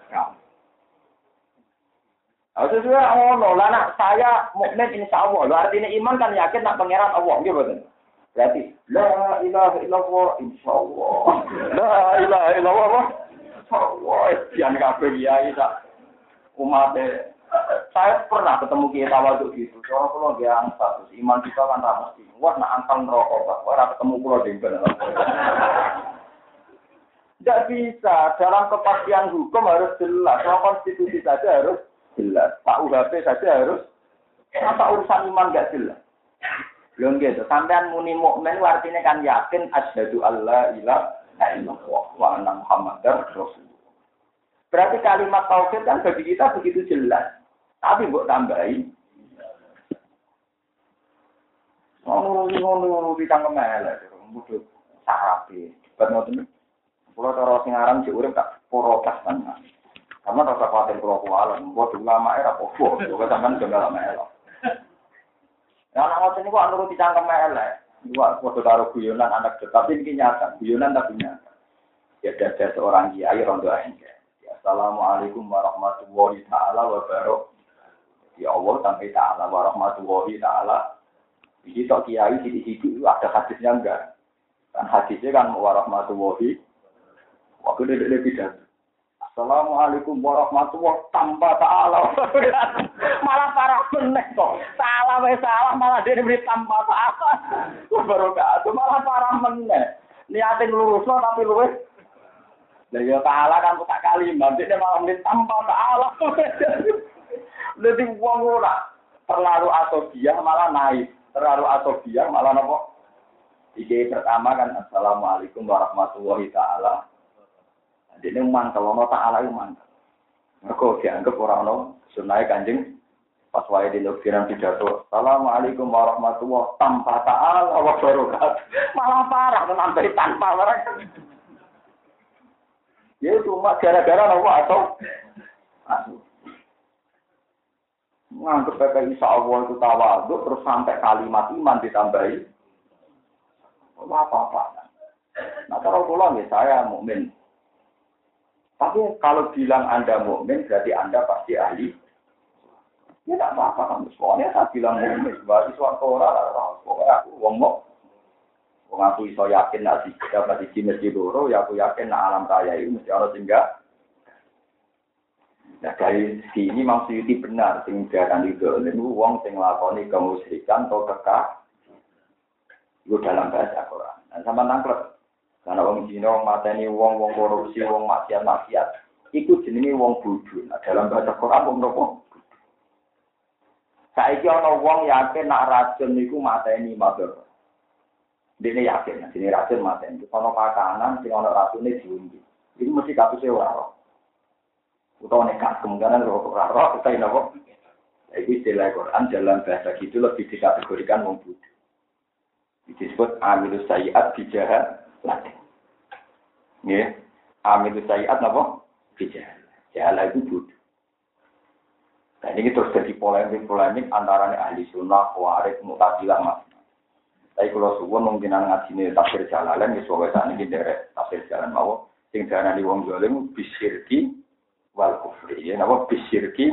Sesuai Allah, lah saya mukmin insya Allah. Artinya iman kan yakin nak pangeran Allah, gitu kan? Berarti la ilaha illallah insya Allah. La ilaha illallah insya Allah. Jangan kabeh kiai tak umatnya. Saya pernah ketemu kiai tawaduk gitu. Orang pulau dia angkat, iman kita kan tak mesti. Wah nak angkat rokok, pak. Orang ketemu pulau dengkel. Tidak bisa. Dalam kepastian hukum harus jelas. Soal konstitusi saja harus jelas. Pak UHP saja harus. Masa urusan iman nggak jelas? Belum gitu. Sampean muni mukmin artinya kan yakin asyhadu alla ilaha illallah wa anna muhammadar rasulullah. Berarti kalimat tauhid kan bagi kita begitu jelas. Tapi mbok tambahi. Ngono di tangkem elek, mudhut sarape. Debat ngoten. Kula cara sing aran sik urip tak protes kan. Karena rasa khawatir kula kuwalan, mbok ulama era opo, kok sampean jenggal elek. Ya anak ngoten niku anuru di tangkem elek. Dua foto karo guyonan anak tapi iki nyata, guyonan tapi nyata. Ya ada seorang kiai rondo aja. Assalamualaikum warahmatullahi taala wabarakatuh. Ya Allah sampai ta'ala warahmatullahi ta'ala. Jadi tok kiai sithik-sithik ada hadisnya enggak? Kan hadisnya kan warahmatullahi waktu dia pidato. Assalamualaikum warahmatullahi tanpa ta'ala. Malah parah meneh kok. Salah malah dia diberi tanpa ta'ala. Wabarakatuh malah parah meneh. Niatin lurusno tapi luwes. Lah ya ta'ala kan tak kalimat dia malah diberi tanpa ta'ala. Jadi wong ora terlalu asobiah malah naik. Terlalu asobiah malah napa? Iki pertama kan assalamualaikum warahmatullahi ta'ala. Dene mantel ana ta'ala iku mantel. Mergo dianggap ora ana sunah Kanjeng pas wae di lokfiran pidato. Assalamualaikum warahmatullahi tanpa ta'ala wa barakatuh. Malah parah nambahi tanpa barang. Ya cuma gara-gara apa atau nganggep PPI Allah itu tawadhu terus sampai kalimat iman ditambahi. Apa-apa. Nah kalau pulang ya saya mukmin. Tapi kalau bilang Anda mukmin berarti Anda pasti ahli. Ya tidak apa-apa kamu semuanya saya bilang mukmin. Berarti suatu orang aku ngomong. Aku iso yakin nak dapat di masjid loro, ya aku yakin nak alam raya itu mesti ana singgah. Nah dari sini maksudnya benar sing diarani itu wong sing nglakoni kemusyrikan atau kekah. Itu dalam bahasa Quran. Dan sama nangklep. Karena wong Cina, wong mateni, wong korupsi, wong maksiat. Iku jenenge wong bodho. Nah, dalam bahasa Quran wong nopo? Saiki ana wong yakin nak racun niku mateni madhar. Dene yakin, jenenge racun mateni. Ana pakanan sing ana racune diundi. Iku mesti katuse ora ora. Utawa nek kemungkinan ora ora kita napa? Iki istilah Quran dalam bahasa gitu lebih dikategorikan wong bodho. Disebut amilus sayiat bijahat latih. Ya, amilus sayiat apa? Bijahat. Jahala itu bodoh. Nah ini terus jadi polemik antara ahli sunnah, khawarij, mu'tazilah mas. Tapi kalau suwun mungkin ngaji ini tafsir Jalalain, ya soalnya saat ini derek tafsir Jalalain mau. Sing darani wong zalim bisyirki wal kufri. Ya, apa bisyirki?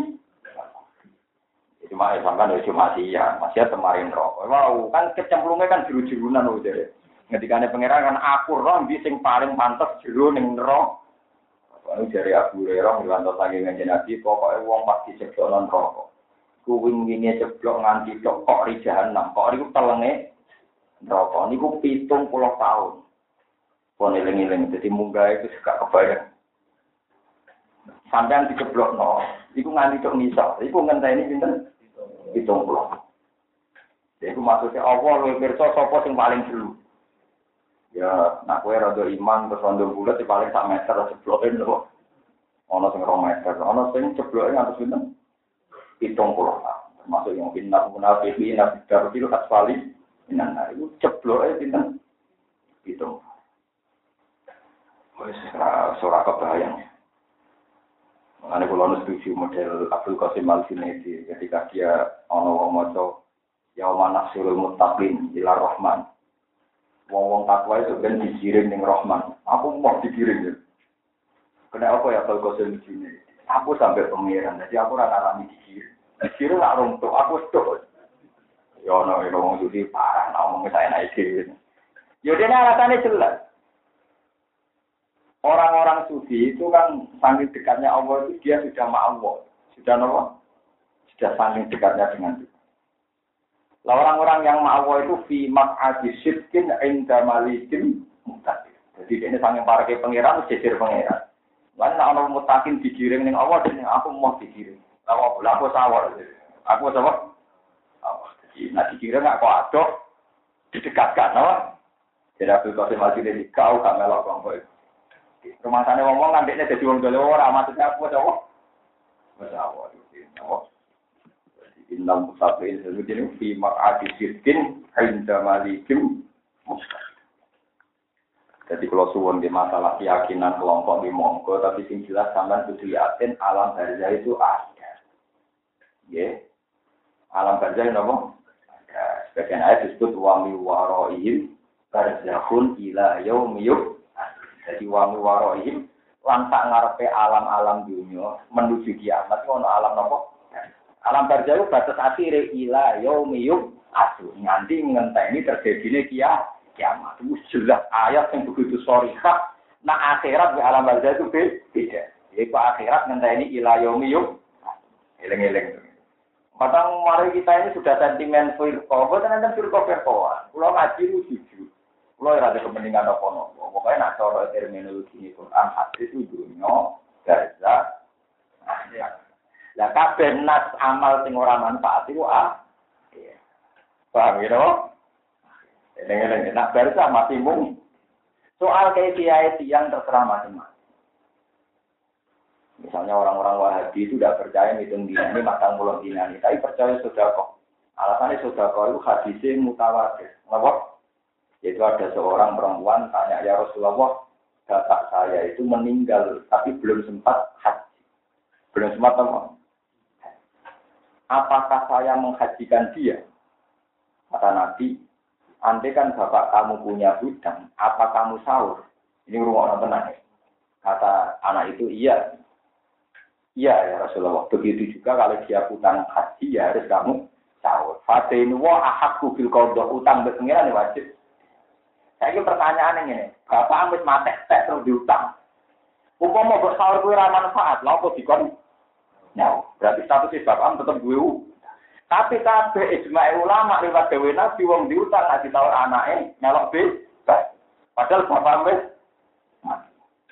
Cuma sampai cuma masih kemarin roh. Wow, kan kecemplungnya kan jeru-jerunan loh jadi. Ngendikane pangeran kan aku roh sing paling pantes jero ning roh. Lalu dari Abu Hurairah ngantos saking Kanjeng Nabi pokoke wong pasti ceblok nang neraka. Kuwi ngene ceblok nganti tok kok ri jahanam. Kok niku telenge neraka niku 70 tahun. Pon eling-eling dadi munggah itu gak kebayang. Sampeyan diceblokno, iku nganti tok nisa. Iku ngenteni pinten? 70. Jadi maksudnya Allah luwih pirsa sapa sing paling dulu. Ya, nak kowe rada iman terus rada bulat di paling sak meter jebloke lho. Ana sing 2 meter, ana sing jebloke ngantos pinten? 70. Termasuk yang pindah munafiqin nafidar itu asfali. Nah, itu jebloke pinten? 70. Wis ora kebayang. Mengenai kalau setuju model Abdul Qasim Al-Junaidi ketika dia ono maca yauma nasrul muttaqin ila rahman. Wong-wong takwa itu kan dikirim ning Rahman. Aku mau dikirim ya. Kena apa ya Abdul Qasim Al-Junaidi? Aku sampai pengiran, jadi aku ora ngalami dikirim. Dikirim lak runtuh, aku stok. Ya ono wong iki parah ngomong saya naik iki. Ya dene alasannya jelas. Orang-orang sufi itu kan saking dekatnya Allah itu dia sudah ma'allah. Sudah apa? Sudah saking dekatnya dengan Tuhan. Lah orang-orang yang ma'allah itu fi maq'adi syirkin inda malikin muttaqin. Jadi ini saking para ke pangeran jejer pangeran. Lan nek ana muttaqin digiring ning Allah dene aku mau digiring. Lah aku sawar. Aku sawar. Jadi nek digiring kok adoh didekatkan apa? Jadi Abdul Qasim Al-Junaidi kau gak melok kelompok. Rumah sana ngomong nantinya jadi wong dole ora maksudnya apa coba? Masalah itu. Innal musafir sebetulnya fi maq'adi sirkin inda malikim mustaqim. Jadi kalau suwun di masalah keyakinan kelompok di monggo tapi sing jelas sampean kudu yakin alam barzah itu ada. Nggih. Alam barzah napa? Ada. Sebagian ayat disebut wa mi waraihim barzahun ila yaumiyub. Jadi wami warohim lantak ngarepe alam-alam dunia menuju kiamat ono alam nopo? Alam barzah batas akhire ila yaumiyum asu nganti ngenteni terjadine kiamat. kiamat. Itu jelas ayat yang begitu sharihah. Nah akhirat di alam barzah itu beda. Yaitu akhirat ngenteni ila yaumi yum. Eleng-eleng. Padahal mari kita ini sudah sentimen firqah, boten enten firqah-firqahan. Kula ngaji lu jujur. Kula ora ada kepentingan apa-apa. Pokoke nek cara terminologi Quran hadis itu dunya barzah. Lah kabeh nas amal sing ora manfaat iku paham ya? Eleng-eleng nak barzah masih mung. Soal kaifiah yang terserah macam-macam. Misalnya orang-orang Wahabi itu tidak percaya hitung dina ini matang pulau dina ini, tapi percaya sodako. Alasannya sodako itu hadisnya mutawatir. Kenapa? Yaitu ada seorang perempuan tanya, ya Rasulullah, bapak saya itu meninggal, tapi belum sempat haji. Belum sempat apa? Apakah saya menghajikan dia? Kata Nabi, andai kan bapak kamu punya hutang, apa kamu sahur? Ini rumah orang tenang ya. Kata anak itu, iya. Iya ya Rasulullah. Begitu juga kalau dia hutang haji, ya harus kamu sahur. Fadenu wa ahakku bil qadha, utang berpengiran wajib. Saya ini pertanyaan ini, bapak ambis mati terus diutang. Umpama mbok sahur kuwi ora manfaat, lha apa dikon? Nah, berarti statusnya bapak tetap gue. Tapi kabeh ijma' ulama lewat dewe Nabi wong diutang nek ditawar anake nyalok bebas. Padahal bapak wis mati.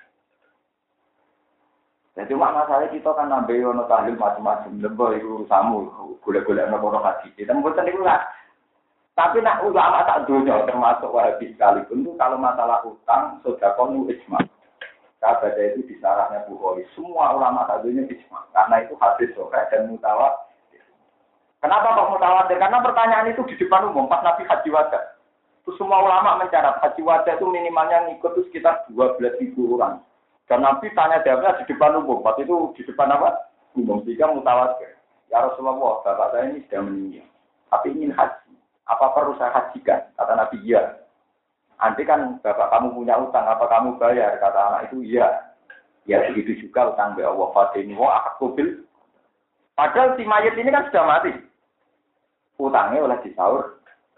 Jadi masalah kita kan nambah ono tahlil macam-macam lembah iku urusanmu golek-golek ono hadis. Kita mboten niku lah. Tapi nak ulama tak dunia termasuk Wahabi sekalipun itu kalau masalah utang sedekah nu ijma'. Kabeh itu di sarahnya Bukhari. Semua ulama tak dunia ijma'. Karena itu hadis sahih dan mutawatir. Kenapa kok mutawatir? Karena pertanyaan itu di depan umum pas Nabi Haji Wada. Terus semua ulama mencatat Haji Wada itu minimalnya ngikut itu sekitar 12.000 orang. Dan Nabi tanya jawabnya di depan umum. Pas itu di depan apa? Umum. Sehingga mutawatir. Ya Rasulullah, bapak saya ini sudah meninggal. Tapi ingin haji. Apa perlu saya hajikan? Kata Nabi, iya. Nanti kan bapak kamu punya utang, apa kamu bayar? Kata anak itu, iya. Ya begitu juga utang be Allah. Fadini wa akakubil. Padahal si mayat ini kan sudah mati. Utangnya oleh disaur.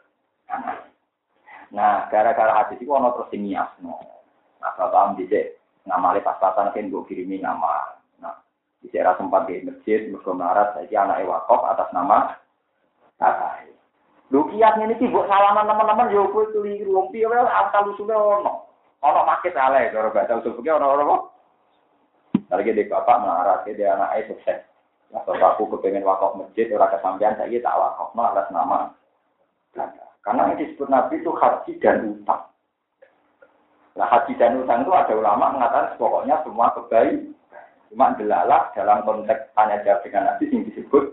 Nah, gara-gara hadis itu ono terus niasno. Nah, bapak ambise ngamale pas-pasan kan gue kirimi nama. Nah, di daerah sempat di masjid, mergo melarat saiki anake wakaf atas nama kakak. Lho kiasnya ini buat salaman teman-teman yo kowe keliru wong piye wae asal usule ono. Ono maket ale karo bahasa usul fikih ono apa? Lagi dek bapak melarat dia anake sukses. Atau aku kepengen wakaf masjid, orang kesampean saya tak wakaf, atas nama. Karena yang disebut Nabi itu haji dan utang. Nah haji dan utang itu ada ulama mengatakan pokoknya semua kebaikan. Cuma delalah dalam konteks tanya jawab dengan Nabi yang disebut.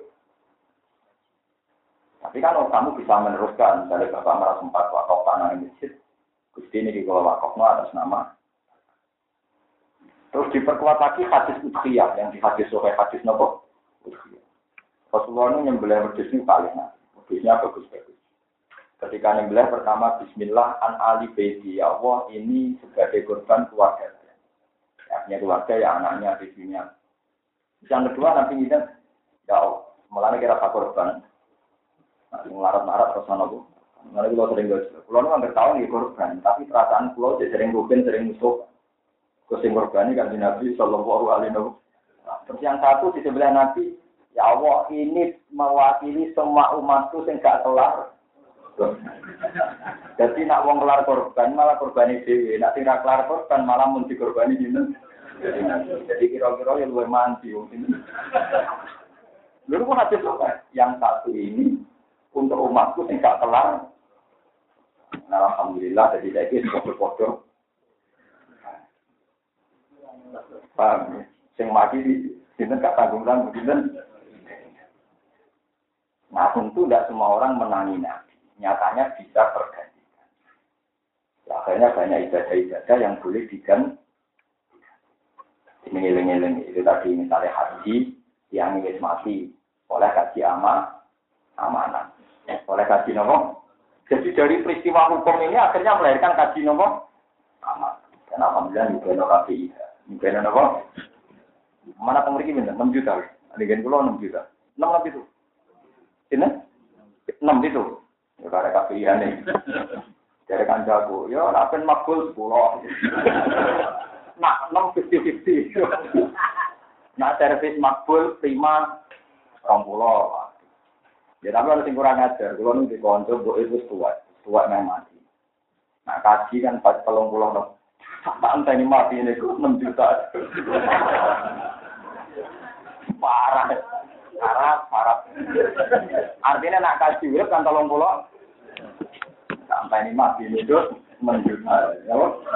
Tapi kan kamu bisa meneruskan, misalnya bapak merasa sempat wakaf tanah masjid, Gusti ini dikelola wakafnya atas nama. Terus diperkuat lagi hadis udhiyah yang di hadis sahih hadis nopo. Rasulullah ini nyembelih wedhus ini paling enak. Wedhusnya bagus-bagus. Ketika nyembelih pertama Bismillah an ali baiti ya Allah ini sebagai korban keluarga. Ya keluarga ya anaknya di dunia. Yang kedua nanti kita ya Allah malah kira korban. Nanti melarat-larat terus nopo. Nanti kalau sering gak kalau nggak tahu nih korban, tapi perasaan pulau sering rugen sering musuh. Kusim korban ini kan di Nabi Sallallahu Alaihi Wasallam. Terus yang satu di sebelah Nabi, ya Allah ini mewakili semua umatku yang gak kelar. Jadi nak wong kelar korban malah korbani dewi, nak tidak kelar korban malah munti korbani jinten. Jadi kira-kira yang luwih manti ini. Lalu pun hadis apa? Yang satu ini untuk umatku yang gak kelar. Nah, alhamdulillah jadi saya ini foto-foto. Paham ya? Yang mati di sini gak tanggung-tanggung sini. Nah tentu tidak semua orang menangi Nabi. Nyatanya bisa tergantikan. Ya, akhirnya banyak ibadah-ibadah yang boleh diganti. Ini itu tadi misalnya haji yang ingin mati oleh kaji amanah. Oleh kaji nomor. Jadi dari peristiwa hukum ini akhirnya melahirkan kaji nomor amanah. Dan alhamdulillah juga KPI. Juga nomor. Mana pemiliki minta 6 juta. Adegan pulau 6 juta. 6 itu. Ini 6 itu. Ya karena KPI aneh. Dari kancaku, yo napen makbul 10. Nak 6 50-50. Nah servis makbul 5 20. Ya tapi harus kurang ajar. Kalau nih di konco, itu tua yang mati. Nah kaji kan 30 dong. Sampai ini mati ini kok 6 juta. Parah. Artinya nak kaji urip kan 30. Sampai ini mati ini kok 6 juta. Ya.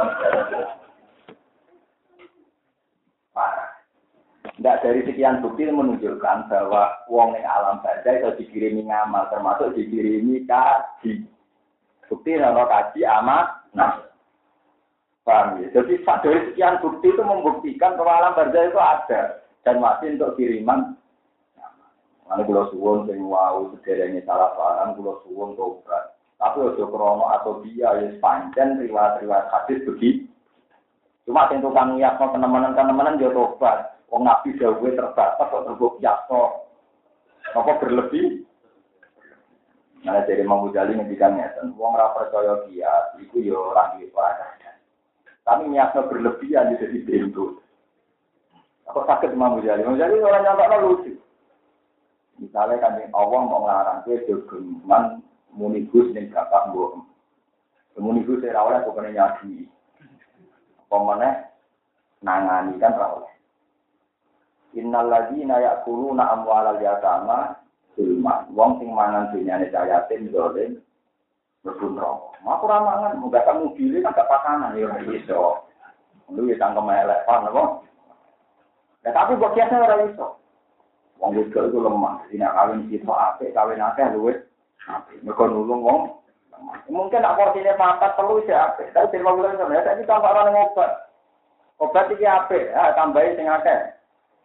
Parah. Tidak dari sekian bukti menunjukkan bahwa wong yang alam barzah itu dikirimi ngamal, termasuk dikirimi kaji. Bukti nama kaji amat, nah, paham ya? Jadi dari sekian bukti itu membuktikan bahwa alam barzah itu ada dan masih untuk kiriman. Mana kalau suwon sing wau sederhana salah paham, kalau suwon tobat. Tapi ojo krono atau dia yang panjang riwayat hadis begitu. Cuma sing tukang ngiyakno teman-teman yo tobat. Wong Nabi dawuhe terbatas kok terbuk yaso. Apa berlebih? Nah, dari Imam Ghazali ngendikan ngeten, wong ora percaya dia, iku yo ora duwe paradan. Tapi nyakno berlebihan jadi bentuk. Apa sakit Imam Ghazali? Imam Ghazali orang nyata lucu. Misalnya kan Allah mau ngelarang kowe jogeman muni Gus ning bapak mbok. Muni Gus ora oleh pokoknya nyadi. Apa meneh nangani kan ora oleh. Innal ladzina ya'kuluna amwalal yatama zulma. Wong sing mangan dunyane yatim zalim mlebu neraka. Aku ora mangan, muga kamu pilih kan gak pakanan ya iso. Lu ya tangkem elek pan apa? Ya tapi kok biasa ora iso. Wong wedok itu lemah, dina kawin sitok apik, kawin akeh luwih apik. Mergo nulung wong. Mungkin nak porsine 4 3 sik apik. Tapi terima bulan sampe saiki tambah ora ngobat. Obat iki apik, tambahi sing akeh.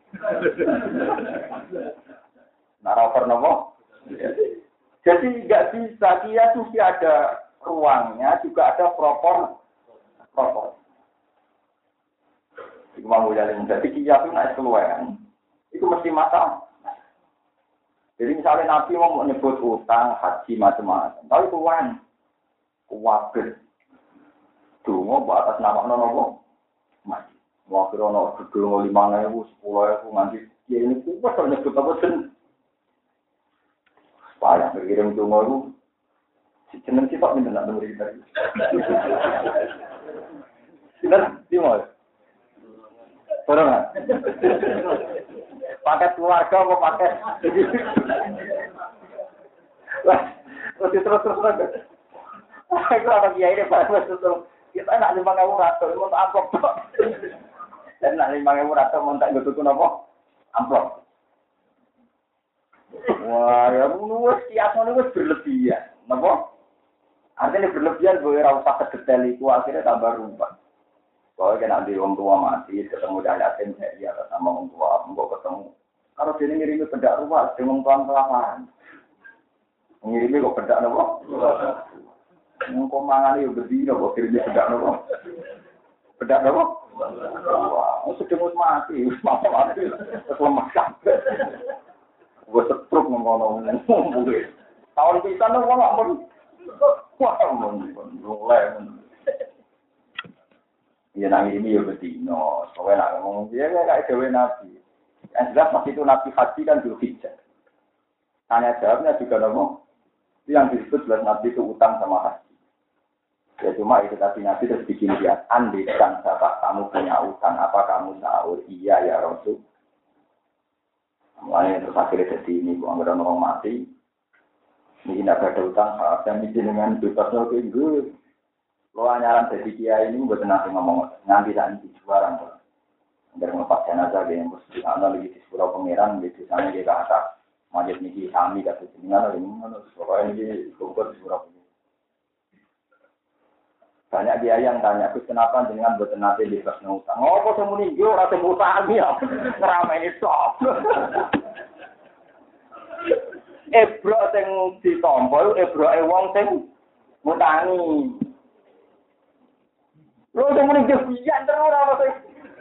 Naraper nopo. Jadi nggak bisa dia tuh ada ruangnya juga ada propor. Iku mau jalan. Jadi dia tuh naik keluaran. Itu mesti masalah. Jadi misalnya Nabi mau menyebut utang, haji macam-macam. Tapi tuan, kuwatir. Dungo buat atas nama nopo. Mati. Waktu ono gedung 5.000, 10.000 nganti ya ini kuat kalau nyebut apa sen. Banyak berkirim dungo itu. Si jeneng sifat minta nak dengar kita. Sinar, dimana? Corona. Paket keluarga apa paket? Terus. Aku ada kiai ini pada terus. Kita nak 5.000 ratus, mau amplop. Dan nak 5.000 ratus mau tak gitu apa? Amplop. Wah, ya nuwes kiasno nuwes berlebihan. Napa? Artinya berlebihan gue ora usah kedetail itu akhirnya tambah rumput. Kalau kena di orang tua mati, ketemu yatim saya sama orang tua, enggak ketemu. Kalau dia ngirimi bedak rumah, dia ngomong kelaparan. Ngirimi kok bedak apa? Ngomong mangan yo berdino kok kirimnya bedak apa? Bedak apa? Wah, sedang mati, mati. Lemah kabeh. Gue setruk ngomong. Tahun pisan wong gak mun. Wah, mulai. Ya nang ini yo bedino, soalnya nak ngomong dia kayak dewe nabi. Yang jelas pas itu nabi haji kan Dzulhijjah. Tanya jawabnya juga ngomong. Itu yang disebut jelas nabi itu utang sama haji. Ya cuma itu tadi nabi terus bikin dia andai kan sahabat kamu punya utang apa kamu sahur iya ya Rasul. Mulai terus akhirnya jadi ini anggaran orang mati. Ini tidak ada utang saya izin dengan bebasnya ke Inggris. Lo anyaran jadi kiai ini buat nanti ngomong nanti juaran kok. Dari melepas jenazah dia yang mesti lagi di sekolah pangeran di sana dia ke atas majid niki kami kata jenengan ini mana sekolah ini kumpul di sekolah. Banyak dia yang tanya, kenapa dengan buat nanti bebas utang? Oh, kok semua nih gue rasa utang ya, ramai ini top. Ebro sing ditompol, ebro wong sing ngutangi. Lho semua nih kebian terus apa sih?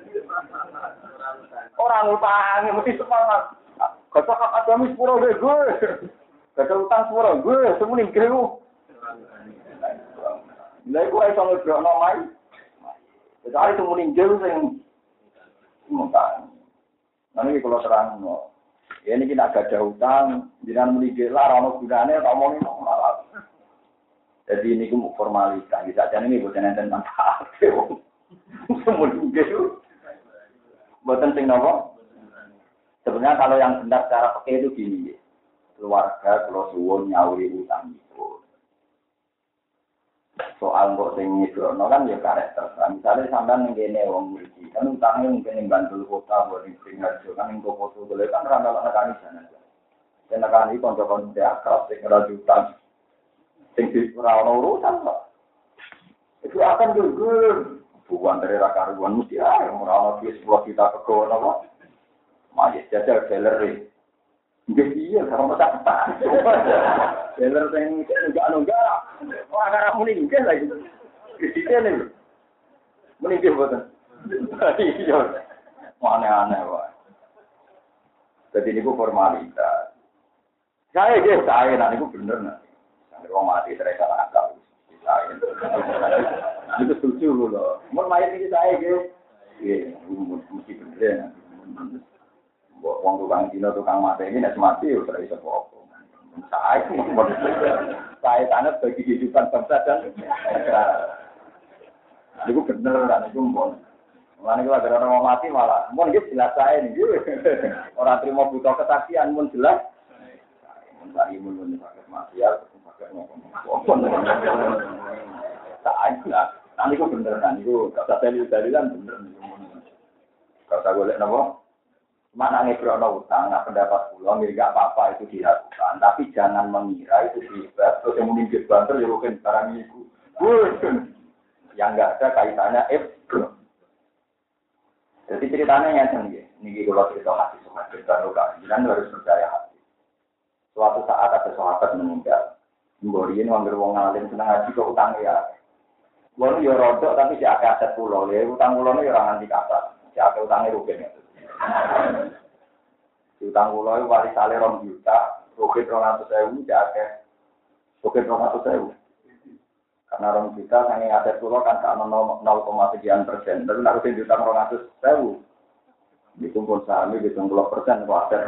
Orang ngutangi mesti semangat. Kata akademi sepuro gue. Kata utang sepuro gue, semua nih gue. Lha iku iso ngebrokno mai. Kecuali itu meninggal sing mungkin. Nanti kalau terang, ya ini kita agak ada utang, jangan meninggal lah, orang gunanya tak mau malah. Jadi ini aku formalitas, bisa aja ini bukan enten manfaat. Meninggal, bukan sing nopo. Sebenarnya kalau yang benar secara pakai itu gini, keluarga kalau suwun nyauri utang itu. Soal kok sing nyidrono kan ya karakter. Misalnya sampean ngene wong mriki, kan utangnya mungkin ning Bantul kota buat ning Singaraja kan ning foto dole kan ra ana nekani sana. Yen nekani kanca-kanca akrab sing ora utang. Sing ora ono urusan kok. Itu akan gugur. Bukan dari rakaruan mesti ora ono 10 juta kegono kok. Majis jajal galeri. Nggih iya karo tak. Dealer sing enggak. Wah, karena meninggal lagi. Ketika nih. Meninggal boten. Iya. Aneh-aneh wae. Jadi niku formalitas. Saya niku bener nek. Sampai wong mati terasa akal. Saya. Itu setuju lho. Mun mayat iki saya nggih. Mesti bener. Wong tukang dino tukang mati ini nek mati ora iso apa. Saya tanah bagi kehidupan bangsa dan negara. Itu bener kan, itu pun. Mana kalau ada orang mati malah, pun gitu jelas saya nih. Orang terima butuh kesaksian pun jelas. Mencari imun sakit matial, sakit ngomong. Tak lah. Nanti itu bener kan, itu kata dalil-dalilan bener. Kata golek napa? Mana ngebrono utang, nah pendapat pulau nggak apa-apa itu dilakukan, tapi jangan mengira itu hebat. Terus yang meninggal banter ya bukan barang itu, yang nggak ada kaitannya Jadi ceritanya yang ini kalau cerita hati sahabat baru kan, jangan harus percaya hati. Suatu saat ada sahabat meninggal, mboriin wanggir wong alim senang ngaji kok utang ya. Wong yo rodok tapi si aset pulau, ya utang pulau ini orang anti kata, si utangnya rugen ya. Utang kula wali sale 2 juta, rugi 200.000 jake. Rugi 200.000. Karena 2 juta sange aset kula kan ka 0,sekian%. Terus nek rugi utang 200.000. Dikumpul saham iki 20% kok aset.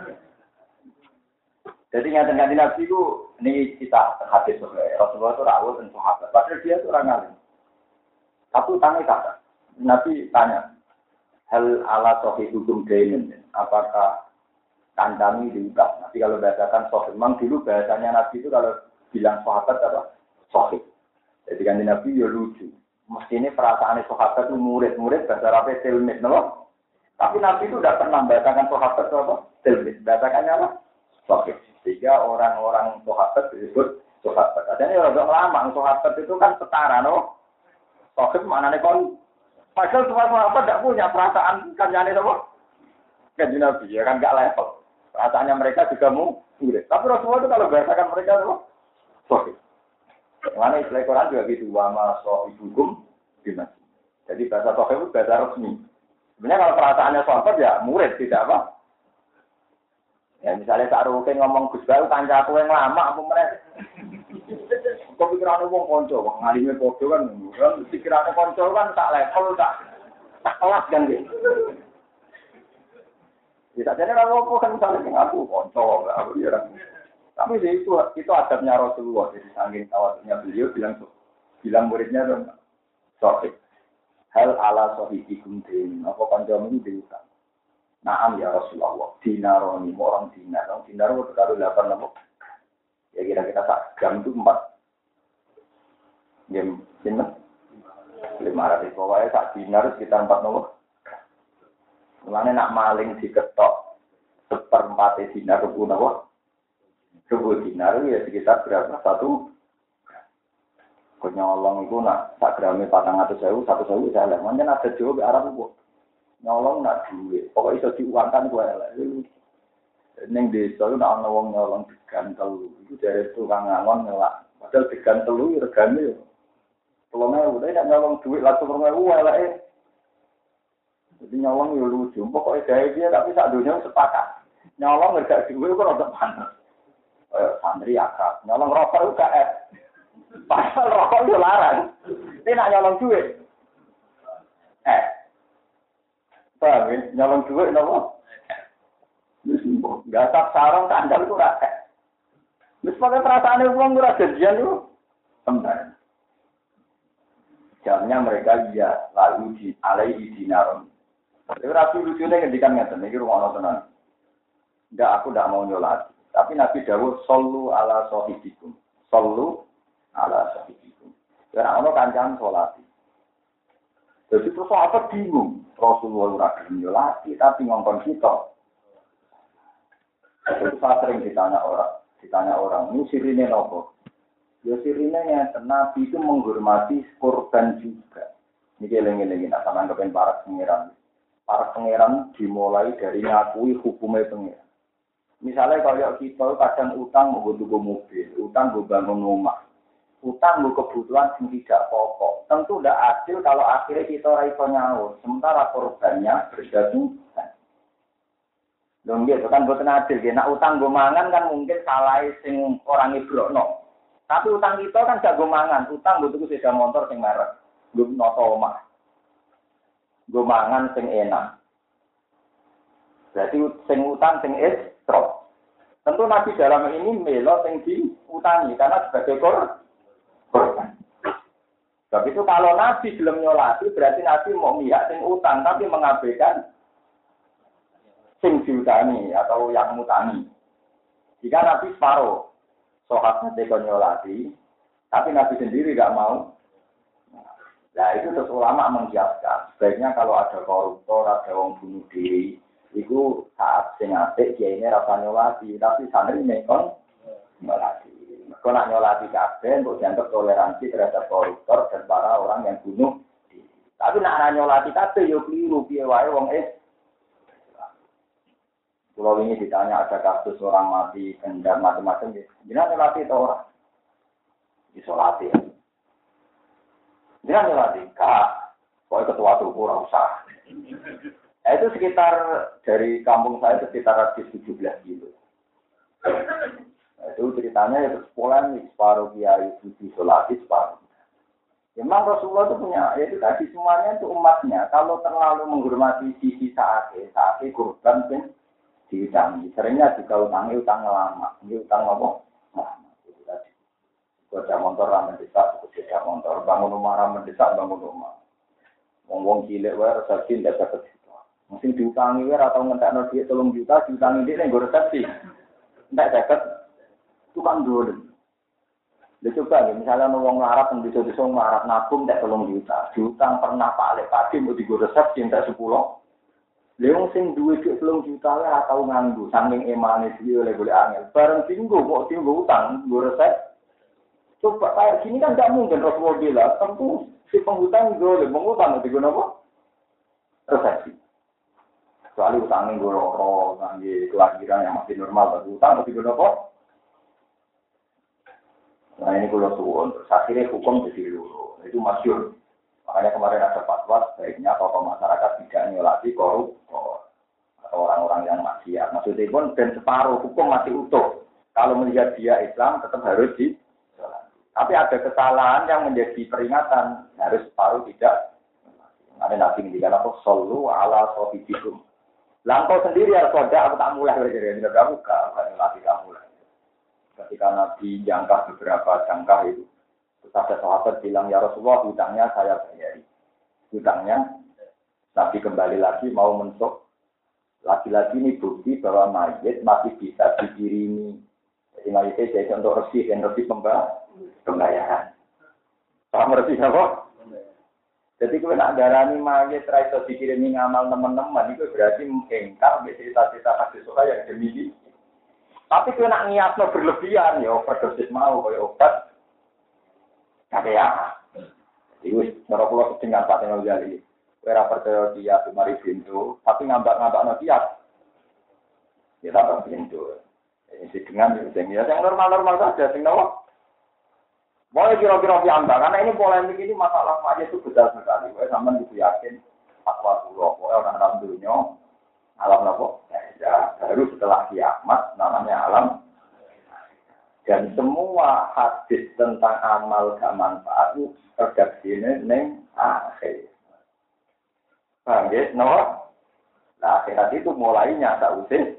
Jadi ngaten-ngaten Nabi ku niki kita hadis Rasulullah itu rawuh dan sahabat. Padahal dia itu orang alim. Tapi utangnya kata. Nabi tanya, hal ala sohi hukum dainin, apakah kandami diutang? Nanti kalau bahasakan sohi, memang dulu bahasanya Nabi itu kalau bilang sahabat apa? Sohi. Jadi kan Nabi ya lucu. Mesti ini perasaannya sahabat itu murid-murid bahasa Arabnya tilmid, no? Tapi Nabi itu tidak pernah bahasakan sahabat itu apa? Tilmid. Bahasakannya apa? Sohi. Sehingga orang-orang sahabat disebut sahabat. Adanya orang lama, sahabat itu kan setara, no? Sohi maknanya kon. Padahal semua sahabat tidak punya perasaan kanjane sama kanjeng Nabi, ya kan nggak level. Perasaannya mereka juga murid. Tapi Rasulullah itu kalau bahasakan mereka itu sohib. Mana istilah Quran juga gitu, wama sohib hukum gimana? Jadi bahasa sohib itu bahasa resmi. Sebenarnya kalau perasaannya sahabat ya murid tidak apa. Ya misalnya Pak Rukin ngomong Gus Bayu kancaku yang lama apa mereka? Kok pikirannya wong konco, wong ngalime podo kan, pikirannya konco kan tak level, tak kelas kan gitu. Bisa jadi kalau kan misalnya aku konco, aku ya. Tapi itu adabnya Rasulullah, jadi saking tawaduknya beliau bilang muridnya dong, sohib. Hal ala sohibikum din, apa koncomu ini diutang. Naam ya Rasulullah, dinaroni, orang dinar itu baru 8 lemuk. Ya kira-kira sak gram itu 4. Jam 500 pokoknya sak dinar sekitar 4 nomor. Mulane nak maling diketok 1/4 dinar rubu napa? Rubu dinar ya sekitar berapa? 1. Nyolong itu nak sak grame 400.000, 1.000 salah. Mungkin ada jawab Arab kok. Nyolong nak duit. Pokoknya iso diuangkan gue elek. Ning desa itu ana wong nyolong degan telu. Iku dari tukang ngangon ngelak. Padahal degan telu regane yo 3.000, udah tidak nyolong duit langsung 3.000 eleke. Jadi nyolong yo lucu. Pokoknya gawe dia tapi sak dunia sepakat. Nyolong enggak duit kok ora panas. Santri akrab. Nyolong rokok juga Pasal rokok itu larang. Ini nak nyolong duit. Paham ya? Nyolong duit apa? Gasak sarong kandang itu rakyat. Misalnya perasaannya uang itu janjian itu. Kembali. Jamnya mereka iya lalu di alaihi dinaron. Tapi rapi lucunya ngendikan ngeten iki rumono tenan. Enggak, aku enggak mau nyolati. Tapi Nabi dawuh sallu ala sahibikum. Sallu ala sahibikum. Ora ono kancan salati. Jadi terus apa bingung? Rasulullah ora gelem nyolati tapi ngongkon kita. Terus sering ditanya orang, ini sirine nopo? Ya sirine yang Nabi itu menghormati korban juga. Ini eling-eling nak sampean kepen para pangeran. Para pangeran dimulai dari ngakui hukumnya pangeran. Misalnya kalau kita kadang utang mau tuku mobil, utang mau bangun rumah, utang mau kebutuhan yang tidak pokok. Tentu tidak adil kalau akhirnya kita raiso nyaur, sementara korbannya berjatuhan. Dong gitu kan bukan adil. Nak utang gue mangan kan mungkin salah sing orang ibrokno. Tapi utang kita kan gak gue mangan, utang gue tuku sepeda motor sing merek, gue noto omah, gue mangan sing enak. Berarti sing utang sing estrof. Tentu Nabi dalam ini melo sing diutangi karena sebagai korban. Sebab itu kalau Nabi belum nyolati berarti Nabi mau miyak sing utang tapi mengabaikan sing diutangi atau yang mutangi. Jika Nabi separuh sahabatnya nyolati, tapi Nabi sendiri tidak mau. Nah itu terus ulama mengkiaskan. Sebaiknya kalau ada koruptor, ada orang bunuh diri, itu saat sing apik dia ini rasa nyolati, tapi santri nekon nyolati. Kalau nak nyolati kabeh, untuk dianggap toleransi terhadap koruptor dan para orang yang bunuh diri. Tapi nak nyolati kabeh, yo keliru piye wae wong Kalau ini ditanya ada kasus orang mati, kendam macam-macam, jangan nyolati itu orang. Disolati. Jangan nyolati, kak. Pokoknya ketua tubuh orang usah. Itu sekitar, dari kampung saya itu sekitar 17 kilo. Itu ceritanya itu sekolah nih, separuh kiai disolati, separuh. Memang Rasulullah itu punya, ya itu tadi semuanya itu umatnya. Kalau terlalu menghormati sisi saatnya kurban pun diutangi. Seringnya juga utang lama. Ini utang apa? Lama. Itu tadi. Sepeda motor ramen desak, sepeda motor. Bangun rumah ramen desak, bangun rumah. Wong cilik wae resepsi ndak dapat juta. Mesti diutangi wae atau ngentekno dhuwit 3 juta diutangi dhek ning resepsi. Ndak dapat tukang dolen. Lha coba ya, misalnya wong larat yang bisa-bisa marah nabung ndak 3 juta. Diutang pernah Pak Lek Padi mau digo resepsi ndak 10. Leung sing duwe dhuwit 3 juta ora tau nganggo, saking emane dhewe oleh golek angel. Bareng tinggo kok tinggo utang, nggo resep. Coba kayak gini kan enggak mungkin Rasulullah bilang, tentu si penghutang boleh mengutang di guna apa? Resepsi. Kecuali utangnya nggo loro, ngangge kelahiran yang masih normal tapi utang di guna apa? Nah ini kalau suwon, terus akhirnya hukum jadi loro. Itu masyhur. Makanya kemarin ada fatwa sebaiknya tokoh masyarakat tidak nyolati koruptor atau orang-orang yang maksiat. Maksudnya pun dan separuh hukum masih utuh. Kalau melihat dia Islam tetap harus disolati. Tapi ada kesalahan yang menjadi peringatan harus separuh tidak. Ada Nabi ngendikan apa? Sallu ala sahibikum. Langkau sendiri ya soda aku tak mulai belajar kamu latih kamu lah. Ketika Nabi jangka beberapa jangka itu. Terus ada sahabat bilang, ya Rasulullah, hutangnya saya bayari. Hutangnya, Nabi kembali lagi mau mentok. Lagi-lagi ini bukti bahwa mayit masih bisa dikirimi. Jadi mayitnya jadi untuk resih dan resih pembayaran. Paham resih apa? Jadi kalau nak darani mayit, raiso dikirimi ngamal teman-teman, itu berarti mengengkar cita-cita hadis yang demi. Tapi kalau nak niatnya berlebihan, ya overdosis mau, kayak obat. Kaya, itu cara pulau dengan Pak Tengah Gali. Kira percaya dia cuma pintu, tapi ngambak dia. Ya tak pintu. Ini dengan yang normal saja, sing nawa. Boleh kira-kira diambang, karena ini polemik ini masalah aja itu besar sekali. Saya sama itu yakin, fatwa pulau, orang alam dunia, alam apa? Ya, baru setelah kiamat, namanya alam. Dan semua hadis tentang amal gak manfaat itu redaksinya neng akhir. Paham ya? No? Nah, akhirat itu mulainya tak usah.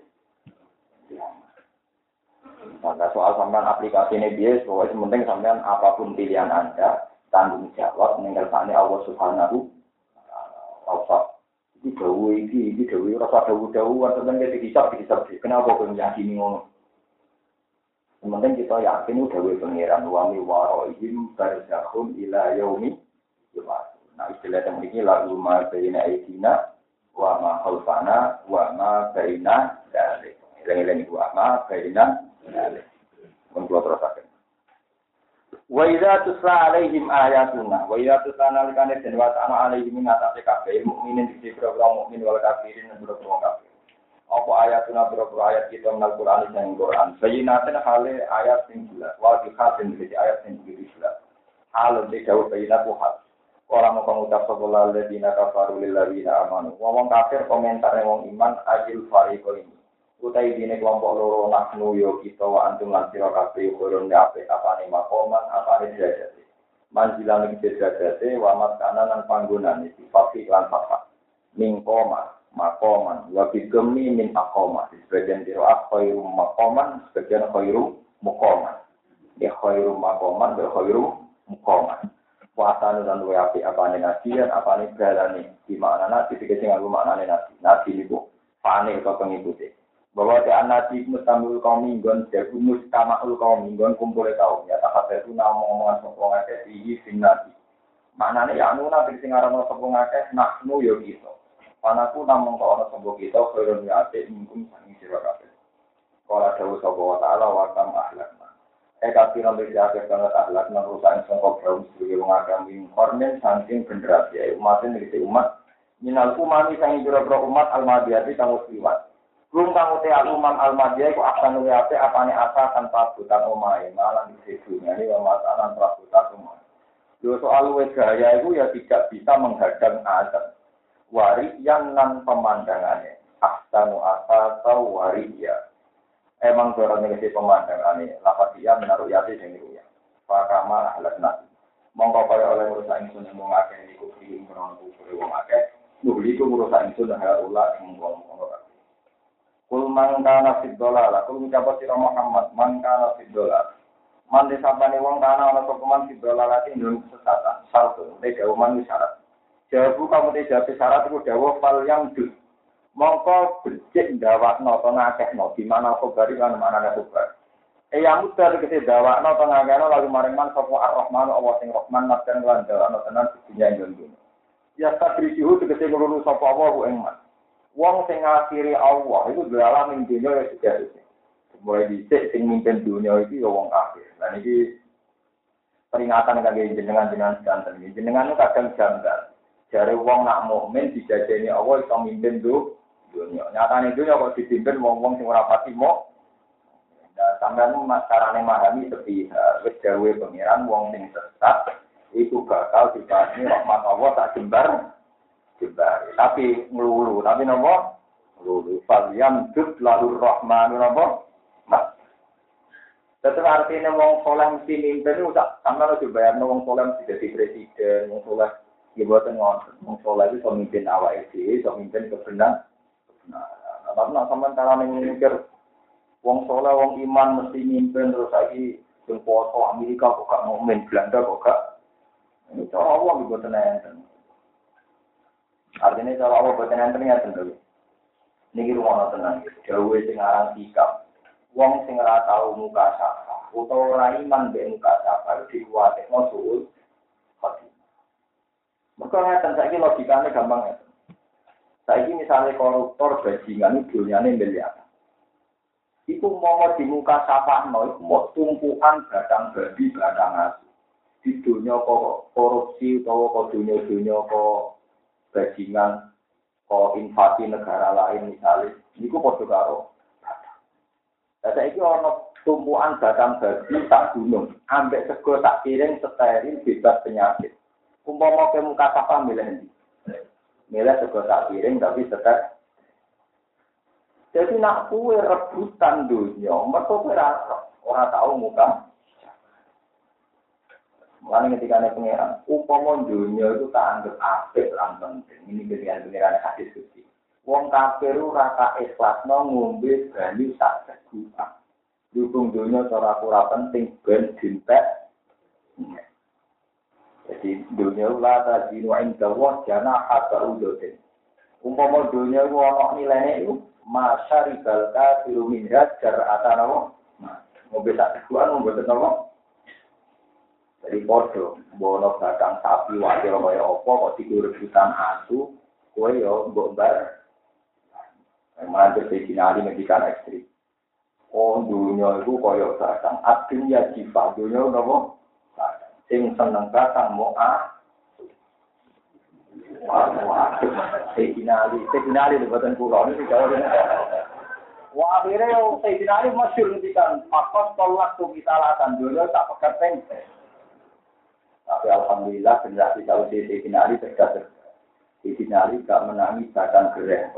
Maka soal sampean aplikasi ini biasa, pokoknya penting sampean apapun pilihan Anda, tanggung jawab mengerti Allah Subhanahu wa taala. Ini dawu rasa dawu sampean kita dihisab. Kenapa kok yakini ngono? Sementara kita yakin udah pengiran wami warohim barzakhun ila yaumi yub'ats. Nah istilah yang ini lalu ma baina aidina wa ma khalfana wa ma baina dzalik. Eling-eling wa ma baina dzalik. Mun kula terusaken. Wa idza tusla alaihim ayatuna wa idza tusla nalikane den wa ta'ala alaihim ngatasi kabeh mukminin di program mukmin wal kafirin dan program kafir. Apa ayatuna berapa ayat kita menal Quran dan Quran. Bayinaten hale ayat sing jelas. Wa di khatin di ayat sing jelas. Hal di jauh bayinat wahad. Orang mau mengucap sebelah ladina kafaru lil ladina amanu. Wong kafir komentar wong iman ajil fariqo ini. Utai dine kelompok loro nahnu yo kita wa antum lan sira kabeh kurun apik apane makoman apane derajate. Manjilan iki derajate wa maskana lan panggonane sifat lan sifat. Mingkoma makoman, wabid gemi min akoma. Sebagian kira khairu makoman, sebagian khairu mukoman. Ya khairu makoman, khairu mukoman. Puasane dan luwe api apane nasian, apane galane. Di makna nasi dikasih nganggo maknane nasi. Nasi niku pane atau pengikuti. Bahwa te anati mustamul kaum minggon, jagu mustamaul kaum minggon kumpule kaum. Ya tak itu ngomong-ngomongan sapa ngakeh iki sinati. Maknane ya anu nabi sing aran sapa ngakeh naknu yo kita. Panaku namung kok ana sembo kita kaya niate mungkin sangi sira kabeh. Kala dawuh sapa wa ta'ala wa tam ahlakna. Kabeh nang diake banget ahlakna rusak sing kok kaum sing wong agami kornen saking generasi umat iki umat minal umami sang jero-jero umat al-madiyati kang liwat. Rum kang uti al-umam al-madiyah ku akan luwe apane asa tanpa butan omahe malah di dunia iki masalah prabutan rumah. Yo soal luwe gaya iku ya tidak bisa menghadang azab. Wari yang nan pemandangannya ahsanu asasau wariya emang dorongnya si pemandangannya lapat dia menaruh yati sendiri ya pakama ahlak nasi mongko kaya oleh merusak insun yang mengakeh niku kiri merontu kuri wong akeh nuhliku merusak insun dan harulah yang mengkongkong kul mangkana fiddola lah kul mencapat sirah Muhammad mangkana fiddola man disabani wong kana ala sokuman fiddola lagi dalam kesesatan salto mereka uman wisyarat jawabu kamu tidak syarat itu dawuh fal yang dus. Mongko becik ndawakno to ngakehno di mana kobari lan manane kobar. Yang mudah tegese ndawakno to ngakehno lalu maring man sapa Ar-Rahman Allah sing Rahman madan lan ndawakno tenan dunya ing ya tabrisihu tegese nglulu sapa Allah ku ing man. Wong sing ngakhiri Allah itu dalam ing dunya ya sudah. Mulai dhisik sing mimpin dunya iki ya wong kafir. Lan iki peringatan kangge jenengan-jenengan sedanten iki. Jenengan kadang janggal. Jare wong nak mukmin dijajeni Allah iso mimpin dunya. Nyatane dunya kok dipimpin wong-wong sing ora pati mok. Nah, sampeyan carane memahami sepi wis dawuhe pengiran wong sing sesat iku bakal dibasmi rahmat Allah tak jembar. Tapi nglulu, tapi napa? Nglulu. Falyam dud lahur rahmanu napa? Mas. Tetep artine wong saleh mesti mimpin iku tak sampeyan dibayarno wong saleh mesti dadi presiden, wong saleh dibuatkan orang soleh itu pemimpin awal itu, pemimpin kebenaran. Nah, tapi nak sampai cara memikir, wong soleh, wong iman mesti mimpin terus lagi jempol Amerika kok gak mukmin, Belanda kok gak. Ini cara Allah dibuatkan enten. Artinya cara Allah buatkan enten ya tentu. Ini rumah tenang, jauh sing aran sikap. Wong sing ora tau muka sapa, utawa ora iman be muka sapa dikuwatekno suul. Makanya saiki logikane gampang ya. Saiki misalnya koruptor bajingan itu dunyane miliar. Iku mau di muka sapakno iku mau tumpukan batang babi batang asu. Di dunia kok korupsi utawa kok dunia kok bajingan kok invasi negara lain misalnya niku padha karo. Lah saiki ana tumpukan batang babi tak gunung, ambek sego tak piring steril bebas penyakit. Umpama ke muka sapa milih ndi? Milih sego sak piring tapi setek. Jadi nak kuwe rebutan dunia, mergo ora Orang tahu muka. Mulane ketika ada pengiran, upama dunia itu tak anggap apik lan penting. Ini pengiran hadis suci. Wong kafir ora ka ikhlasno ngombe banyu sak segukan. Dukung dunia cara ora penting ben dintek. Jadi dunia la tajinu inda wa jana hatta udotin. Umpama dunia ku ana nilainya itu masyarikal kafiru min jar atanawa. Ngombe sak segukan ngombe tenawa. Jadi podo, bono batang sapi wakil kaya apa kok direbutan asu, kowe yo mbok bar. Mantu sekinali medikan ekstrim. Oh dunia itu kaya batang adin ya jifa dunia napa? Sing seneng batang mo wah, sekinali buatan pulau ini jauh ini. Wah akhirnya yo sekinali masyhur medikan. Pakos tolak tuh kisalatan dunia tak pekat tempe. Tapi alhamdulillah generasi tahu Sayyidina Ali cerdas. Sayyidina Ali gak menangi bahkan gereh.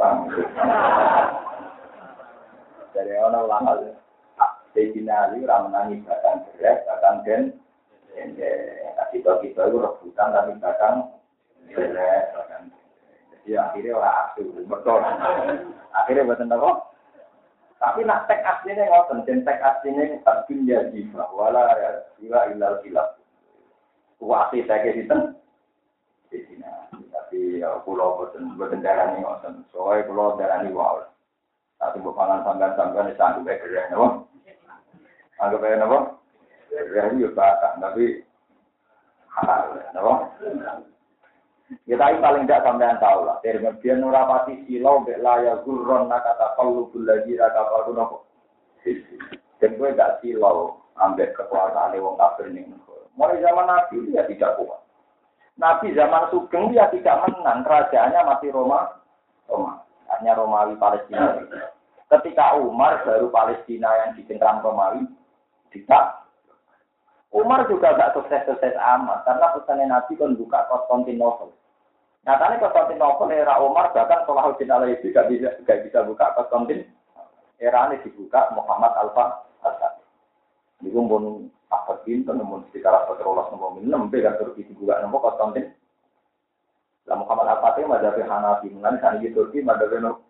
Dari orang ulama Sayyidina Ali ora menangi bahkan gereh, bahkan den. Kita itu rebutan tapi bahkan gereh, bahkan. Jadi akhirnya orang asu, betul. Akhirnya buatan apa? Tapi nak teks aslinya ngoten, den teks aslinya dunya jiwa wala ya ilal khilaf. Wasi saya kisiten di sini, tapi pulau berdendarani ngoten, soalnya pulau darani wow. Tapi bukangan sambil di sana juga kerja, nabo. Anggap aja nabo, kerja juga batang, tapi halal, nabo. Kita ini paling tidak sampean tahu lah. Dari kemudian nurapati silau belaya gurron nakata kalu bulaji raka baru nabo. Dan gue gak silau ambek kekuasaan wong kafir nih. Mulai zaman Nabi dia tidak kuat. Nabi zaman Sugeng dia tidak menang. Kerajaannya masih Roma. Hanya Romawi Palestina. Ketika Umar baru Palestina yang dicengkram Romawi. Tidak. Umar juga gak sukses-sukses amat. Karena pesannya Nabi kan buka Konstantinopel. Nyatanya Konstantinopel era Umar bahkan Salahuddin Alayubi gak bisa buka Konstantin. Era ini dibuka Muhammad Al-Fatih. Ini pun apa pintu namun sekitar apa terolas nomor 6 kan Turki juga nomor Konstantin. Lah Muhammad Al-Fatih mazhab Hanafi mengenai sana di Turki mazhab.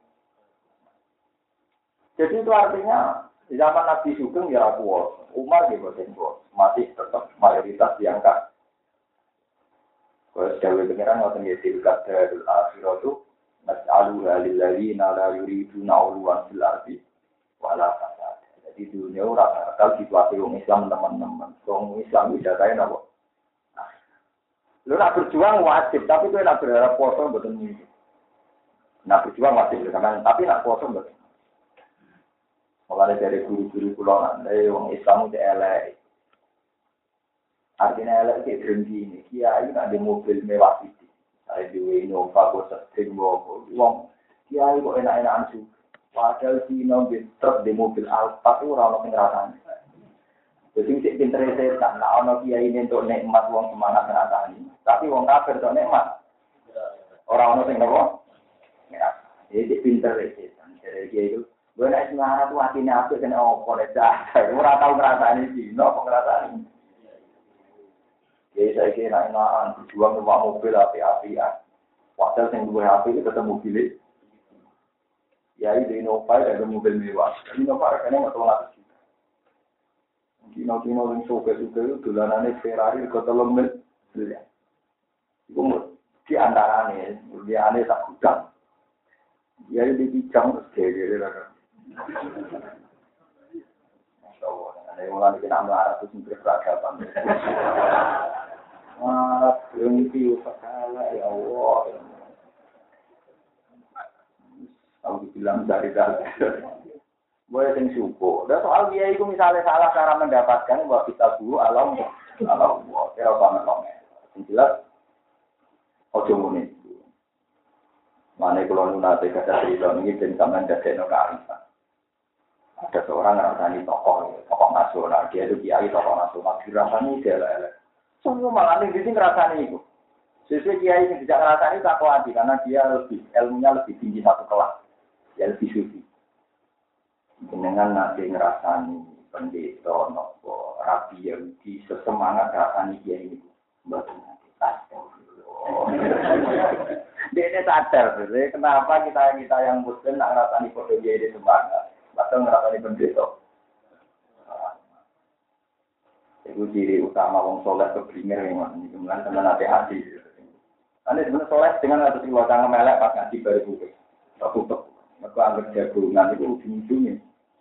Jadi itu artinya di zaman Nabi Sugeng ya kuat, Umar di Bosengo masih tetap mayoritas diangkat. Kalau jauh pengiran ngoten ya tilkat dari akhirat itu nas'alu lilladzina la yuriduna uluwan fil ardi wala fasad. Di dunia orang akal situasi orang Islam teman-teman, orang Islam tidak kaya nabo. Lu nak berjuang wajib, tapi tu nak berharap puasa betul ni. Nak berjuang wajib karena, tapi nak puasa betul. Mulai dari guru-guru pulangan, dari orang Islam itu elek. Artinya elek itu berhenti ini. Kiai nak di mobil mewah itu, saya di Innova, bosat, tinggal, uang. Kiai kok enak-enakan juga. Padahal Cina truk di mobil Alfa itu orang yang ngerasani. Jadi cek pinter setan, nah orang kiai ini untuk nikmat uang semangat ngerasani. Tapi uang kafir untuk nikmat. Orang yang ngerasani. Jadi cek pinter setan. Jadi kiai itu, gue naik semangat tuh hatinya apa kena opor dah. Orang tahu ngerasani Cina, apa ngerasani. Jadi saya kira enakan berjuang ke mobil api-apian. Padahal yang dua api itu ketemu mobil. Ya ini Innova ada mobil mewah. Innova harganya nggak tahu lagi. Kino yang suka-suka itu dolanannya Ferrari ke telung miliar. Itu di antaranya, dia aneh tak gudang. Dia ini dibijang terus dia Masya Allah, ada yang mulai kita melarat itu sendiri peradaban. Berhenti segala ya Allah. Aku bilang dari. Boleh sing syukur. Dan soal dia itu misalnya salah cara mendapatkan bahwa kita dulu alam kira banget banget. Yang jelas, ojo muni. Mana kalau nunate kata cerita ini dan sampai dari kearifan. Ada seorang rasani tokoh nasional. Dia itu kiai tokoh nasional. Dirasani dia elek. Semua malah nih sini ngerasani itu. Sesuai kiai yang tidak ngerasani tak kuat karena dia ilmunya lebih tinggi satu kelas. Dia lebih suci. Dengan nanti ngerasani pendeta nopo rabi yang di sesemangat rasani dia ini mboten dia sadar, kenapa kita yang muslim nak ngerasani kode dia ini semangat, atau ngerasani pendeta. Itu ciri utama wong soleh keblinger memang, kemudian teman hati-hati. Anda sebenarnya soleh dengan atas wacana melek pas ngaji baru buka, tutup. Mereka anggap jagungan itu ujung-ujungnya.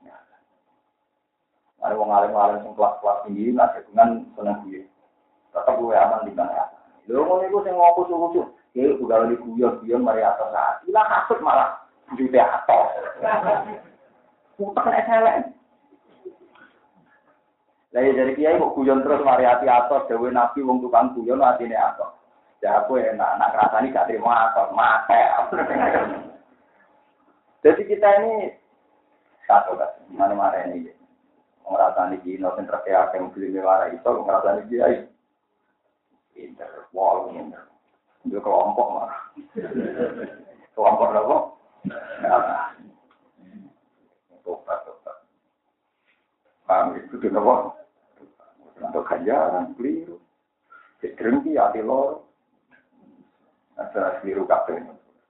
Ada wong alim-alim yang kelas-kelas tinggi, nah jagungan senang gue. Tetap gue aman di mana. Lalu mau nih gue sing ngopo-ngopo. Ya, udah lagi guyon mari atas saat. Ilah kasut malah juta atas. Utak kan SLN. Lah ya dari kiai kok guyon terus mari ati atas dewe nabi wong tukang guyon atine atas. Ya aku enak nak rasani gak terima atas mate. Jadi kita ini satu kan, mana-mana ini. Rasani iki no sentra kayak yang beli mewara itu rasani kiai. Pinter, wall pinter. Dia kelompok mah. Kelompok apa? Tobat. Paham itu dia apa? Untuk ganjaran, keliru. Sedengki hati lor. Ada keliru kabeh.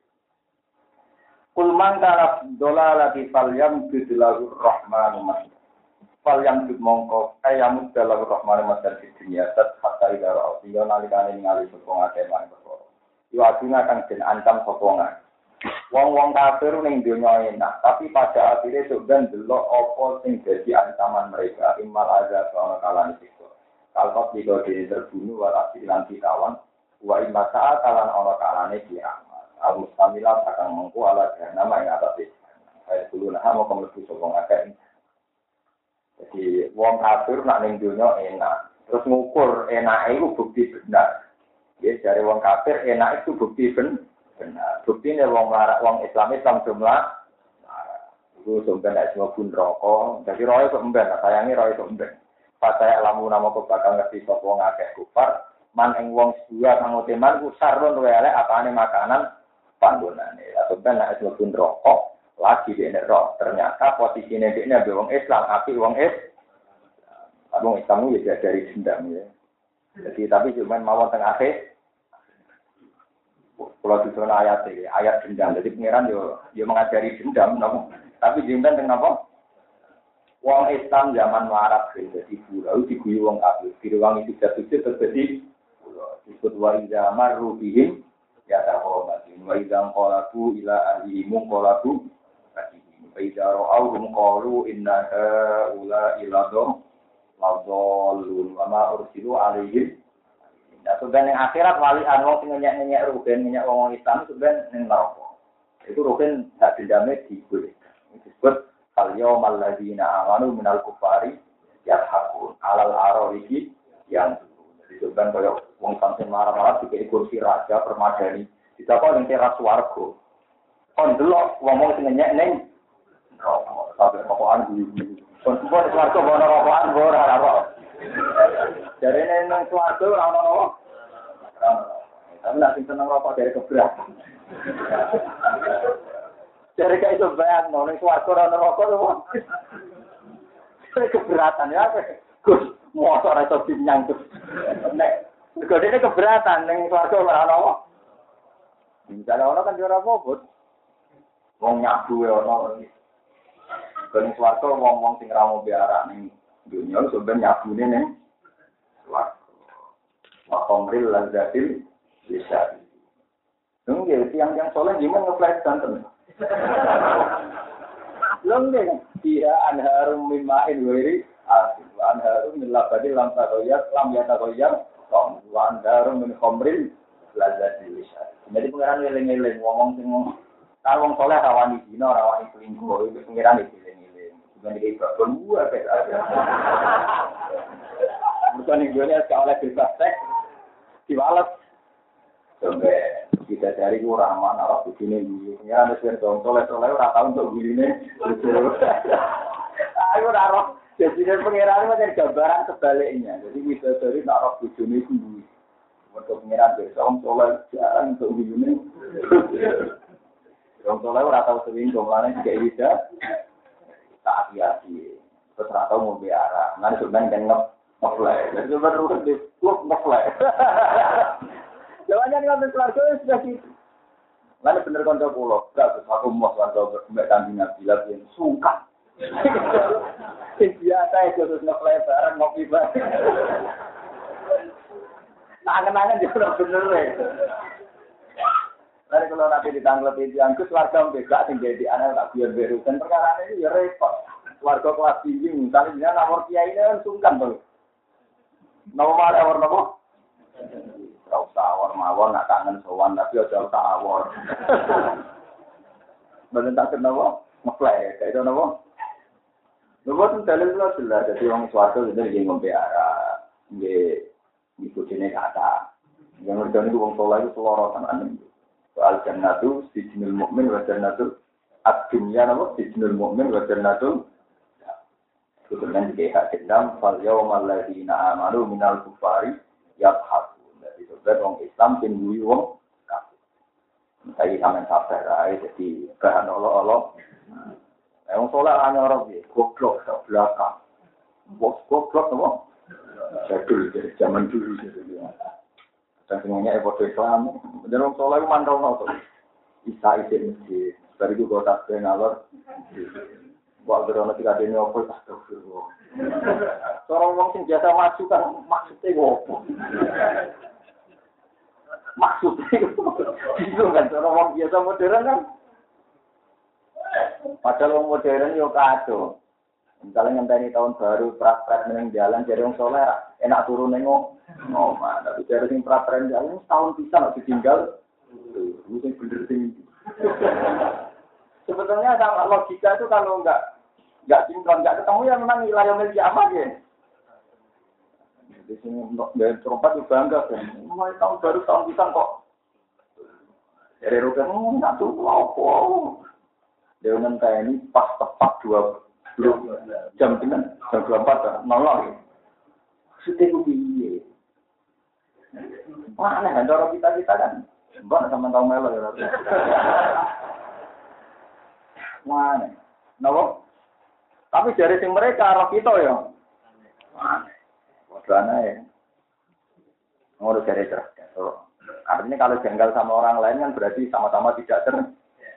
Kul man kana dolalati falyam bidilahu rahmanu mas. Falyam bid mongko ayamud dalahu rahmanu mas di dunia hatta idara audio nalikane ningali sopong akeh lan. Yo aduna kang den ancam sokongan. Wong-wong kafir ning donya enak, tapi pada akhirnya sebenarnya delok apa sing dadi ancaman mereka imal azab ana kalane siksa. Kalkot digo terbunuh wa asilan ditawan wa imma saat kalan ana kalane kiamat. Abu Samilah akan mengku ala nama yang atas itu. Saya dulu nah mau kemlebu sokong akeh. Jadi wong kafir nak ning donya enak, terus ngukur enake iku bukti benar. Ya dari wong kafir enak itu bukti benar. Bukti ini wong Islam jumlah. Itu sebenarnya semua pun rokok. Jadi roy itu emben. Sayangi roy itu emben. Pas saya lamu nama kau bakal ngerti sop wong akeh kufar. Man ing wong sedua kang uteman ku sarun elek apane makanan panggonane. Sebenarnya semua pun rokok. Lagi di roh. Ternyata posisinya dia ini wong Islam. Api wong Wong Islam itu ya dari dendam ya. Jadi tapi cuma mawon tengah akhir. Kalau di zona ayat dendam, jadi pengiran yo mengajari dendam, no? Tapi dendam dengan apa? Wong Islam zaman Arab jadi pulau diguyu wong kafir, diruang itu terjadi pulau. Disebut waiza marubihim ya tahobatin, waiza qalabu ila ahlihim qalabu katihim, waiza ra'awhum qalu inna haula iladhum ladallun wa ma ursilu alaihim. Nah, sebenarnya yang akhirat wali anwong sing ngenyek rugen ngenyek wong Islam sebenarnya ning neraka. Itu rugen hak dendame dibolehkan. Disebut al-yawmal ladzina amanu minal kufari yadhakun alal aroriki yang jadi sebenarnya kaya wong sampeyan marah-marah dikei kursi raja permadani. Ditakok ning teras swarga. Kon delok wong sing ngenyek ning neraka. Sampai rokokan iki. Kon buat swarga bono rokokan ora ora. Dari neng suatu orang-orang, tapi nanti senang rokok dari keberatan. Dari kayak itu banyak, neng suatu orang-orang rokok tu, dari keberatan ya, Gus, motor itu binyang tu. Kalau dia keberatan, neng suatu orang-orang, misalnya orang kan juara bobot, wong nyabu ya orang. Kalau neng suatu wong sing ramu biara neng dunia sebenarnya nyabu neng. Wakomril lazzatil lisan. Nggih, yang soleh gimana ngeflash santen. Nggih, dia anharum mima'in wiri, anharum min labadil lam yatagoyar, wa anharum min khomril lazzatil lisan. Jadi pengiran ngeling-ngeling, ngomong sing kalau wong soleh rawani dina, rawani selingkuh, itu pengiran ngeling-ngeling. Bukan dikibabon buah kayak aja. Bukan Indonesia sekolah oleh bebas seks diwalet. Sampai kita cari uraman arah begini dulu. Ya ada sekian soleh ora tau untuk begini. Aku ora jadi pengiran macam gambaran sebaliknya. Jadi kita cari arah begini dulu. Untuk pengiran besok soleh jarang untuk begini. Orang soleh ora tau sering jumlahnya juga bisa tak hati-hati. ora tau ngombe arak. Nang sampean kan ngefly. Jadi baru di klub ngefly. Jawabannya ngoten keluarga sudah gitu. Lalu bener kanca kula, gak aku mau kanca mbek kambing Nabilah yang sungkan. Sing biasa itu terus ngefly bareng ngopi bareng. Tangan-tangan juga bener ya. Lalu kalau nanti ditangglep itu yang keluarga mbek sing jadi anak tak biar beru dan perkara ini ya repot. Keluarga kelas tinggi misalnya dia nomor kiai ini kan sungkan tuh. Nomor ada warna apa? Kau tawar mawon nak kangen sowan tapi aja tawar. Bener tak kenapa? Ngeplay kayak itu napa? Nuwun dalil kula jelas dadi wong swarga bener nggih ngombe arak, nggih ngikutine kata. Yang ngerti wong saleh itu selorotan ane. Soal jannatu sijnul mukmin wa jannatu ad-dunya napa sijnul mukmin wa jannatu kemudian juga hak dendam fal yawmal ladzina amanu minal kufari yadhakun. Jadi sebenarnya orang Islam tinggi wong kafir. Saya sampean sabar ae jadi bahan Allah. Wong saleh ana ora piye? Goblok sak belakang. Bos goblok apa? Jadul dari zaman dulu gitu. Dan semuanya epoch Islam. Dan wong saleh mantau to. Isa isi masjid. Bariku kota ngalor. Wah, berono tiga dene opo astagfirullah. Orang wong sing biasa maju kan maksudnya opo? Maksudnya itu kan orang wong biasa modern kan. Padahal wong modern yo kado. Misalnya ngenteni tahun baru praktek ning jalan jadi wong soleh enak turun ning omah. Tapi dari sing praktek jalan tahun pisan ditinggal. Lu sing bener sing sebetulnya sama logika itu kalau nggak sinkron, nggak ketemu ya memang wilayah milik apa ya. Di sini dari terompat juga bangga kan. Mulai tahun baru tahun pisang kok. Dari rukun nggak tuh apa. Dia nanti ini pas tepat 2 jam dengan jam 24 nolong. Setiap biye. Mana kan orang kita kan. Mbak sama tahu melo ya. Mana? Nopo? Tapi dari sing mereka roh kita ya. Mana? Wadana ya. Ngurus dari cerdas. Artinya kalau jengkel sama orang lain kan berarti sama-sama tidak cerdas.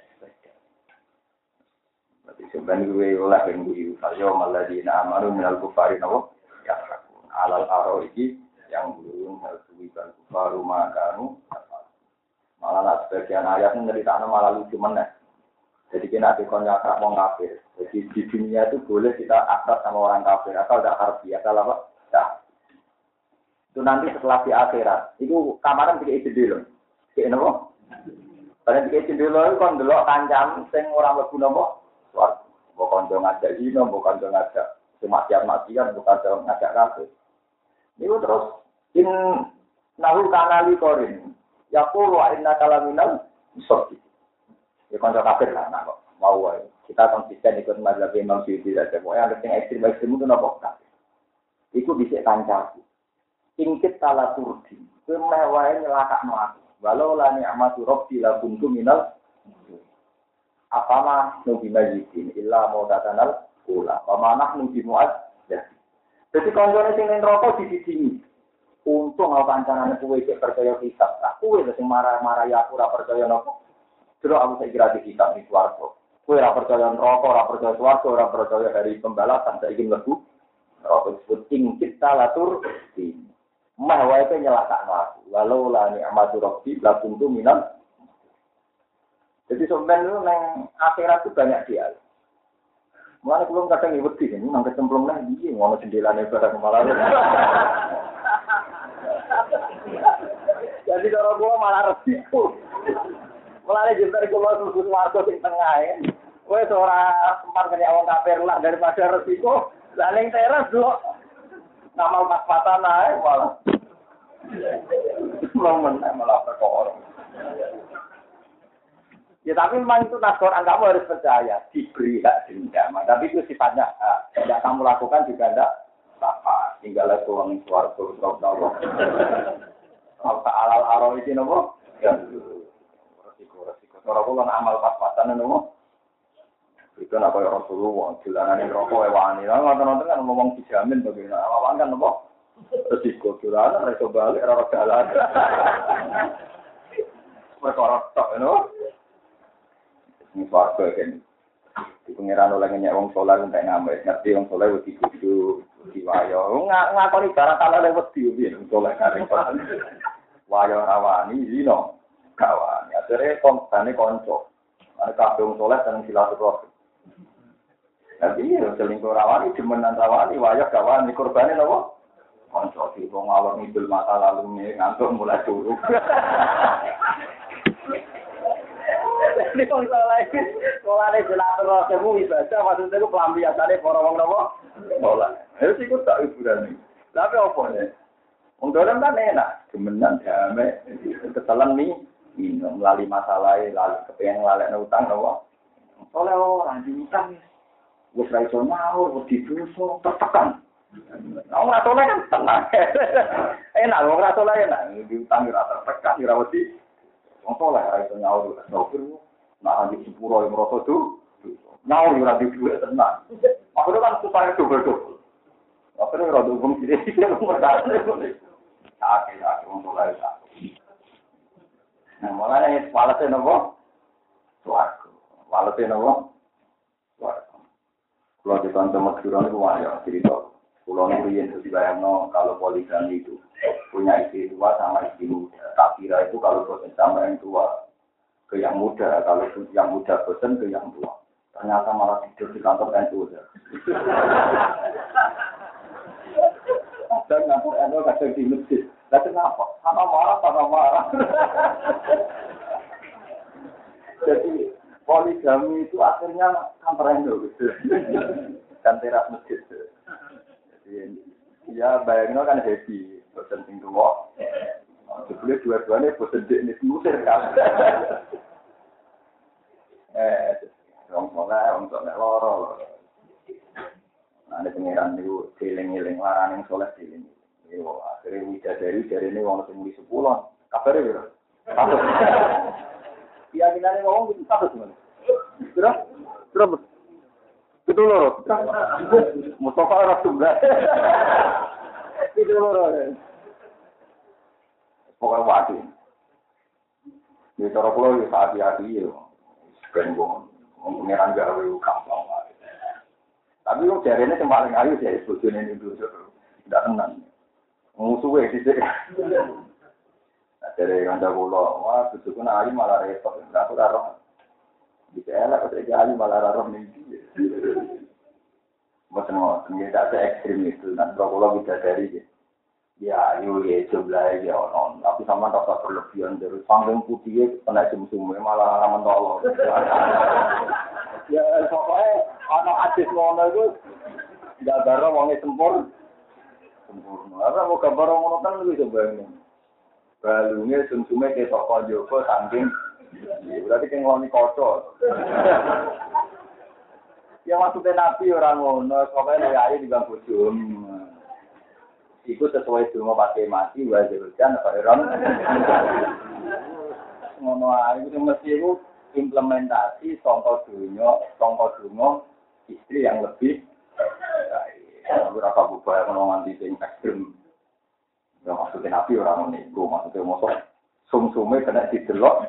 Berarti sebenarnya gue olah yang gue saja maladina amaru minal kufari nopo. Ya rakun. Alal aro iki yang belum harus baru makanu. Malah nak sebagian ayat menceritakan malah lucu meneh. Jadi kita dikon akrab orang kafir. Jadi di dunia itu boleh kita akrab sama orang kafir. Asal tidak harfi, asal apa? Tidak. Itu nanti setelah di akhirat. Itu kamaran tiga isi dulu. Kayak apa? Pada tiga isi dulu itu kan dulu kancam. Sing orang berguna apa? Suatu. Bukan jangan ngajak zina, bukan jangan ngajak semacam-macam, bukan jangan ngajak kafir. Itu terus. In nahu kanali korin. Yaqulu wa inna kalaminal musaddiq. Ya kanca kafir lah nak mau wae. Kita konsisten ikut mazhab Imam Syafi'i saja. Pokoke yang ekstrem itu napa kafir. Iku dhisik kancaku. Ingkit tala turdi. Kowe meh wae nyelakakno aku. Walau la ni'matu rabbi la kuntu minal apama nubi majidin illa maudatanal ula. Pamanah nubi muad. Jadi kancane sing ning neraka dididingi. Untung aku kancanane kowe iki percaya hisab. Aku wis sing marah-marah ya aku ora percaya nopo. Terus aku saya kira di kitab di swarga. Kowe ora percaya neraka, ora percaya swarga, ora percaya hari pembalasan saiki mlebu. Neraka disebut ingkit talatur di. Mah wae pe nyelakakno aku. Walau la ni'matu rabbi la kuntu minal. Jadi sebenarnya nang akhirat itu banyak dia. Mulane kula kadang wedi ini nang kecemplung nang iki ngono jendelane barang malah. Jadi kalau gua malah resiko. Mulane jembar kula susu warga sing tengah ya. Kowe ora sempat kaya wong kafir lah daripada resiko. Lah ning teras lho. Ngamal pas-pasan ae malah. Malah perkara. Ya tapi memang itu nas Quran kamu harus percaya diberi hak dendam. Tapi itu sifatnya tidak kamu lakukan juga tidak apa. Tinggal itu orang suara terus Allah. Apa alal aro iki nopo? Ya resiko. Ora kula amal pas-pasan nopo. Itu nak kaya Rasulullah, dolanane rokok wani. Lah ngoten-ngoten kan ngomong dijamin bagaimana. Awan kan apa? Resiko dolanan iso balik ora dalan. Perkara tok ngono. Ini warga kan. Di pengiran oleh nyek wong saleh entek ngambil. Ngerti wong saleh wedi kudu diwayo. Ngakoni ibarat ala wedi piye wong saleh karep. Wayo rawani dino. Kawan, akhirnya kontane konco. Ana kabeh wong saleh seneng silaturahmi. Tapi selingkuh rawani, demenan rawani, wajah kawan, ini korbannya apa? Konco di wong alor ngidul mata lalu nih, ngantuk mulai turun. Ini wong saleh, sekolahnya silaturahmi ibadah, maksudnya itu pelampiasannya para wong apa? Sekolah. Itu sih tak hiburan nih. Tapi apa nih? Wong dolan kan enak, demenan damai, ketelan nih, melalui masalah, lalu kepengen ngelalekno utang apa? Soalnya orang diutang wis ra iso nyaur, wis didosa, tertekan. Wong ra soleh kan tenang. Enak wong ra soleh enak, diutang ora tertekan, ora wedi. Wong soleh ra iso nyaur, sopir. Nah, di sepuro yang merasa tuh, nyaur ora di duit tenang. Akhirnya kan supaya double-double. Akhirnya ora dukung sithik wong merdane. Sakit wong soleh sakit. Nah, mulane walase nopo? Suwarga. Walase nopo? Suwarga. Kalau di kantor Madura itu banyak cerita. Pulau Nurian itu dibayangkan kalau poligami itu punya istri tua sama istri muda. Tak kira itu kalau bosan sama yang tua ke yang muda, kalau yang muda bosan ke yang tua. Ternyata malah tidur di kantor NU. Dan kantor NU kadang di masjid. Tapi kenapa? Sama marah. Jadi poligami itu akhirnya kantor NU gitu. Dan teras masjid. Jadi ya bayangin kan happy, bosan sing tua. Sebelum dua-duanya bosan di musir kan. Orang loro. Nah, ada pengiran itu eling-eling larang yang soleh eling. Yo akhirnya widadari dari ini wong sing muli 10. Kabare piro? Satu. Keyakinane wong itu satu sebenarnya. Berapa? Itu loro. Mustafa ora tunggal. Itu loro. Pokoknya wati. Di cara kula yo hati-hati yo. Ben wong pengiran gawe gampang wae. Tapi kok jarene sing paling ayu sih bojone itu tidak tenang. Musuhe sithik. Dari kandha kula, wah bojoku nak ayu malah repot. Aku ora roh. Dicela kok iki ayu malah ora roh ning iki. Mboten ngoten, tidak se ekstrim itu. Nan kula bisa dari ya ayu ya jumlah ya ono. Tapi sama rasa berlebihan dari panggung putih kena sum-sume malah mentolo. Ya pokoknya ana adis ngono iku enggak baro wong sempurna. Apa mau gambar ngono kan lebih coba. Balungnya sum-sume ketok konjoko saking berarti kan ngeloni kocok. Ya maksudnya Nabi orang ngono, pokoknya lu ayu di bangku jum. Iku sesuai dungo pakai mati, wajib hujan, apa orang. Ngono ayu itu mesti itu implementasi contoh dungo istri yang lebih berapa bubaya menongan di sing ekstrim. Ya maksudnya Nabi orang nego, maksudnya mosok sum-sume kena didelok.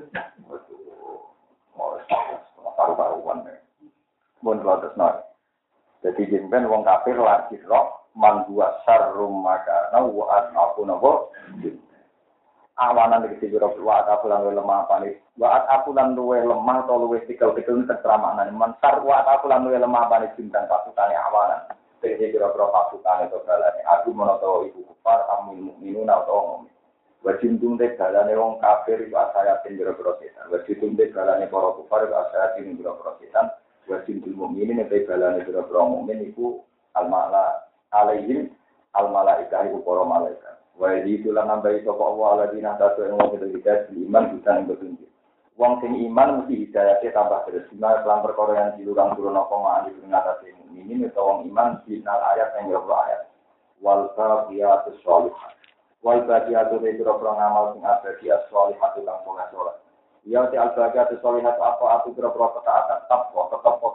Mau taruh-taruhan. Mun terus nol. Jadi jemben wong kafir lagi roh man buat syarrum maka wa aku nabo. Awanan iki sira wa aku lan lemah panis. Wa aku lan luwe lemah atau luwe tikel-tikel teramanan man syar wa aku lan luwe lemah panis bintang pasutane awanan. Jadi kira-kira pasukan itu balane aku menawa ibu kufar amun mukminun atau mukmin. Wajib tundek balane wong kafir iku asaya kira-kira setan. Wajib tundek balane para kufar iku asaya kira-kira setan. Wajib mukminin nek balane kira-kira mukmin iku al-mala alaihim al-malaikah iku para malaikat. Wa itu lan nambahi sapa Allah aladina tatu ing wong hidayah iman bukan petunjuk. Wong sing iman mesti hidayahke tambah terus. Dina lan perkara yang dilurang turun apa ma'ani ngatasi mukminin utawa wong iman dinal ayat yang yo ayat. Wal baqiyatus sholihat. Wal baqiyatu kira-kira ngamal sing abadi as-sholihatu lan saleh. Ya te al-baqiyatu sholihat apa aku kira-kira ketaatan tetap foto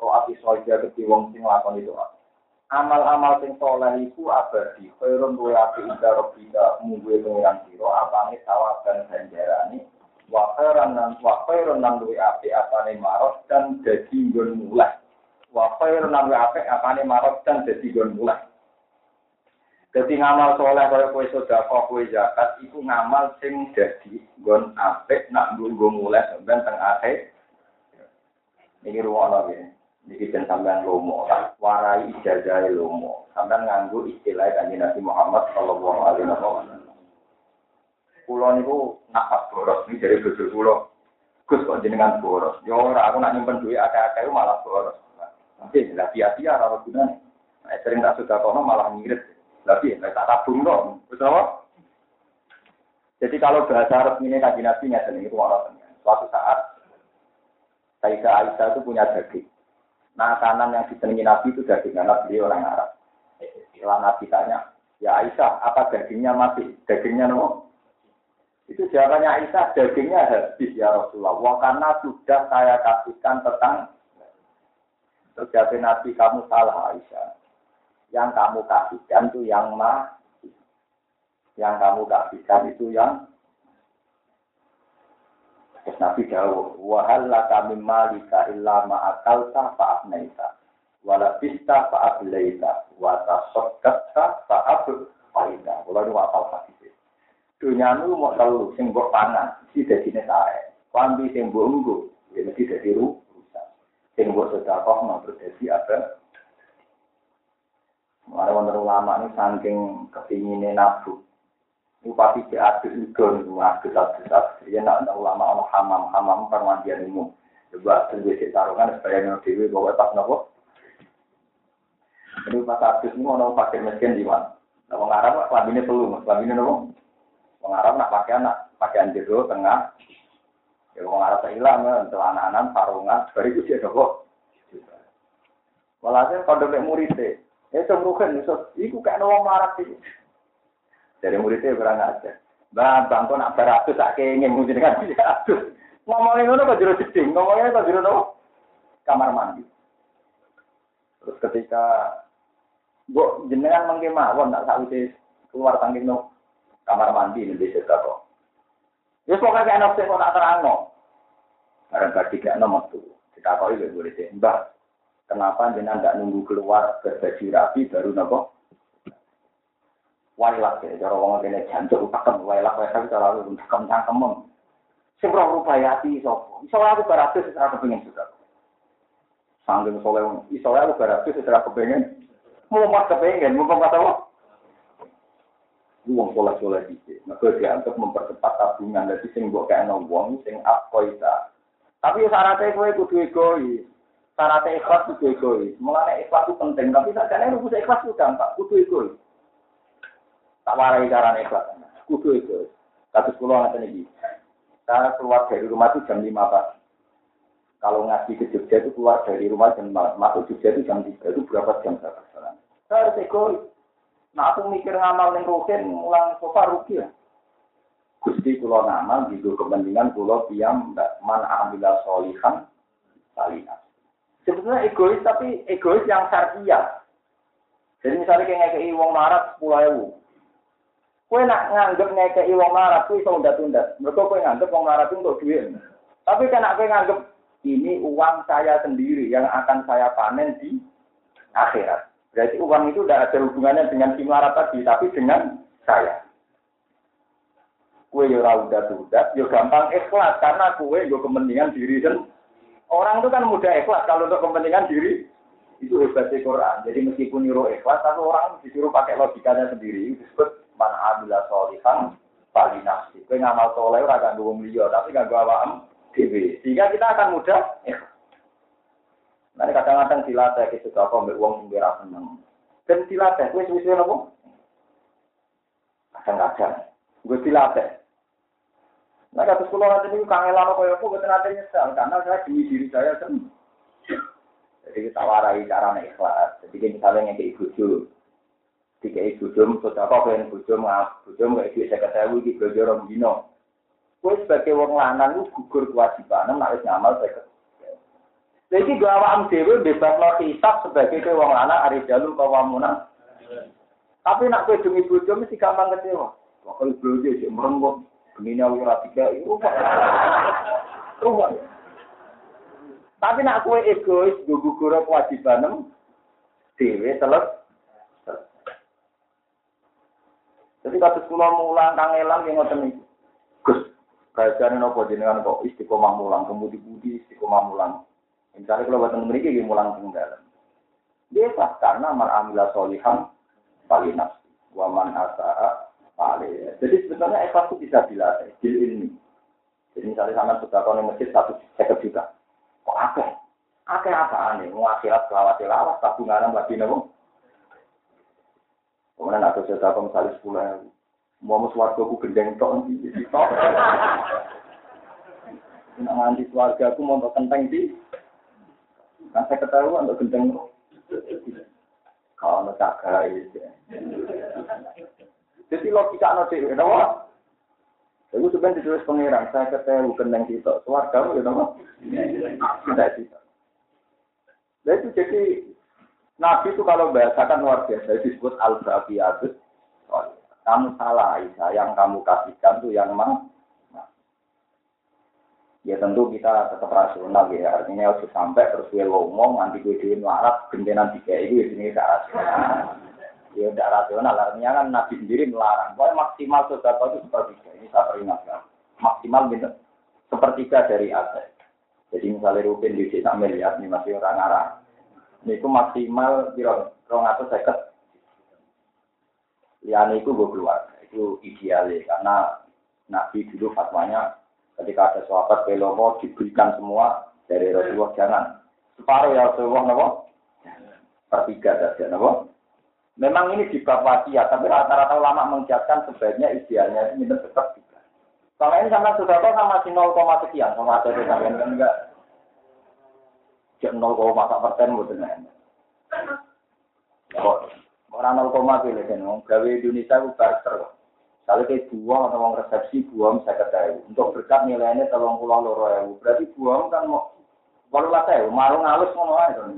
toat iso dadi wong sing lakoni toat. Amal-amal sing saleh iku abadi, khairun wa api inda rabbika mungguhe pengiran sira apane sawaban ganjarane wa khairan lan luwe api apane marot dan dadi nggon mulai. Wa khairan lan luwe api apane marot dan dadi nggon mulai. Dadi ngamal saleh kaya kowe sedekah, kowe zakat iku ngamal sing dadi nggon apik nak nggo mulai sampeyan teng akhir. Niki ruwono nggih. Niki ben sampean lomo, warai ijazah lomo. Sampean nganggo istilah Kanjeng Nabi Muhammad sallallahu alaihi wasallam. Kulo niku nafas boros iki dari bojo kulo. Gus kok jenengan boros. Yo ora aku nak nyimpen duit akeh-akeh malah boros. Nanti lah sia-sia ora gunane. Nek sering tak sudah kono malah ngirit. Tapi nek tak tabung dong. Wis apa? Jadi kalau bahasa resmine Kanjeng Nabi ngeten niku ora suatu saat Sayyidah Aisyah itu punya daging. Makanan yang disenangi Nabi itu daging, karena beliau orang Arab. Setelah Nabi tanya, ya Aisyah, apa dagingnya mati? Dagingnya no? Itu jawabannya Aisyah, dagingnya habis ya Rasulullah. Karena sudah saya kasihkan tentang terjadi Nabi, kamu salah Aisyah. Yang kamu kasihkan itu yang mati. Yang kamu kasihkan itu yang Nabi jawab, wa hal laka mim malika illa ma akalta fa afnaita wa labista fa ablaita wa tasaddaqta fa ablaita. Kula nu apal hadis. Dunyamu mau telu sing mbok pangan, iki dadine sae. Pambi sing mbok nggo, ya mesti dadi rusak. Sing mbok sedekah mau dadi apa? Mare wonten ulama ini saking kepingine nafsu. Bupati diadus ikon, adus. Ya nak ulama ono hamam permandian umum. Coba terus taruhkan supaya nang dhewe bawa pas nopo. Ini pas adus ini ono pakai mesin di mana? Nah, wong Arab klambine telu, klambine nopo? Wong Arab nak pakaian jero tengah. Ya wong Arab ilang celana-anan sarungan, bariku sih nopo. Walhasil kalau mek murid cemruken iku kaya wong Arab iki. Dari muridnya berang aja. Bang kok nak beratus tak kenging mungkin dengan beratus. Ngomongin ngono kok jero jeding, ngomongin kok jero nopo? Kamar mandi. Terus ketika mbok jenengan mengke mawon tak sakwise keluar saking no kamar mandi ning desa kok. Wis pokoke enak sing kok tak terangno. Bareng badhe gak ono metu. Ditakoki lho muridé, "Mbah, kenapa jenengan ndak nunggu keluar berbaju rapi baru nopo?" Wailak ya, cara wong kene jancuk pakem wailak cara lu cangkem. Sing ora rupayati sapa? Iso aku baratus secara kepengin juga. Sanggeng soleh iso aku baratus secara kepengin. Mau mas kepengin, mau kata apa? Wong soleh iki. Maka dia untuk mempercepat tabungan dadi sing mbok kene wong sing akoita. Tapi syaratnya kowe kudu egois. Syaratnya ikhlas kudu egois. Mulane ikhlas itu penting, tapi sakjane rumus ikhlas itu gampang, kudu egois. Tak warai carane ikhlas. Kudu egois. Kados kula ngaten iki. Saya keluar dari rumah itu jam 5 pagi. Kalau ngaji ke Jogja itu keluar dari rumah jam 4. Masuk Jogja itu jam 3. Itu berapa jam saya perjalanan? Saya harus egois. Nah aku mikir ngamal yang rugen, ulang sofa rugi ya. Gusti kula ngamal, gitu kepentingan kula piyam man amila sholihan salihah. Sebetulnya egois, tapi egois yang syariah. Jadi misalnya kayak ngekei wong marat 10.000. Kowe nak nganggep ngekei wong marat kuwi iso undat-undat. Mergo kowe nganggep wong marat untuk duit. Tapi kan kowe nganggep ini uang saya sendiri yang akan saya panen di akhirat. Berarti uang itu tidak ada hubungannya dengan si marat tadi, tapi dengan saya. Kowe yo ora undat-undat, yo gampang ikhlas karena kowe yo kepentingan diri sendiri. Orang itu kan mudah ikhlas kalau untuk kepentingan diri. Itu hebatnya Quran. Jadi meskipun nyuruh ikhlas, tapi orang disuruh pakai logikanya sendiri. Itu disebut man amila sholihan fali nafsi. Kowe ngamal saleh ora kanggo wong liya, tapi kanggo awakmu dhewe. Sehingga kita akan mudah ikhlas. Nah, kadang-kadang dilatih ke suka kok mbek wong sing ora seneng. Ben dilatih kowe suwe-suwe napa? Kadang-kadang gue dilatih. Nah, kata sekolah nanti ini kangelan kaya aku betul nanti nyesal karena saya demi diri saya sendiri. Jadi kita warai cara ikhlas. Jadi misalnya ngekei bojo, dikei bojo, sudah kok pengen bojo nggak duit 50.000 di bojo rong dino. Kowe sebagai wong lanang lu gugur kewajiban, nek wis ngamal 50. Jadi gak awam dewe bebas no hisab sebagai ke wong lanang ari jalur kawamunan. Tapi nak kowe demi bojo mesti gampang kecewa. Wakil bojo sik merenggut, gemine ora tiga itu. Tapi nak kowe egois gugur kewajibanem dhewe teles. Jadi kados kula mulang kangelan ki ngoten iki. Gus, kajiane napa jenengan kok istiqomah mulang, kemudi-mudi istiqomah mulang. Misalnya kalau buat teman mereka mulang tinggal, dia karena amila solihan palinaf, waman asa paling. Jadi sebenarnya ikhlas itu bisa dilatih, bil ilmi. Jadi misalnya sama sudah kalau masjid 150 juta, kok akeh apaan nih? Mau akhirat lawas tabungan lagi nabo. Kemudian aku sudah kalau misalnya 10.000, mau suarga aku gendeng tok di tok. Nak nganti suarga aku mau kenteng di. Kan saya ketahuan untuk gendeng. Kalau nak cagai. Jadi logika no cewek, kenapa? Itu sebenarnya ditulis pengiran. Saya ketahui gendeng kita. Suarga itu kenapa? Tidak bisa. Nah itu jadi Nabi itu kalau bahasakan luar biasa disebut al-baqiyatut. Kamu salah Aisyah, yang kamu kasihkan itu yang mang. Ya tentu kita tetap rasional ya, artinya harus sampai terus gue ngomong nanti gue diin larat gentenan tiga itu ya ini tidak rasional. Ya tidak rasional, artinya kan Nabi sendiri melarang. Pokoknya maksimal sedekah itu sepertiga. Ini saya peringatkan. Maksimal gitu, sepertiga dari aset. Jadi misalnya Ruben di desa miliar ini masih orang arah. Ini itu maksimal kira 250. Liane itu gue keluar, itu idealnya karena Nabi dulu fatwanya. Ketika ada sahabat belomo diberikan semua dari Rasulullah jangan separuh ya Rasulullah nabo pertiga saja nabo. Memang ini di bab wasiat, tapi rata-rata ulama mengiakan sebaiknya idealnya itu minum tetap juga. Kalau ini sama sudah tahu sama si 0, sekian sama ada yang enggak jam 0,1% betul. Orang 0, pilih kan, gawe Indonesia itu barter. Kalau kayak buang atau uang resepsi buang bisa ketahui. Untuk berkat nilainya 32.000. Berarti buang kan mau 18.000. Marung halus ngono ae to.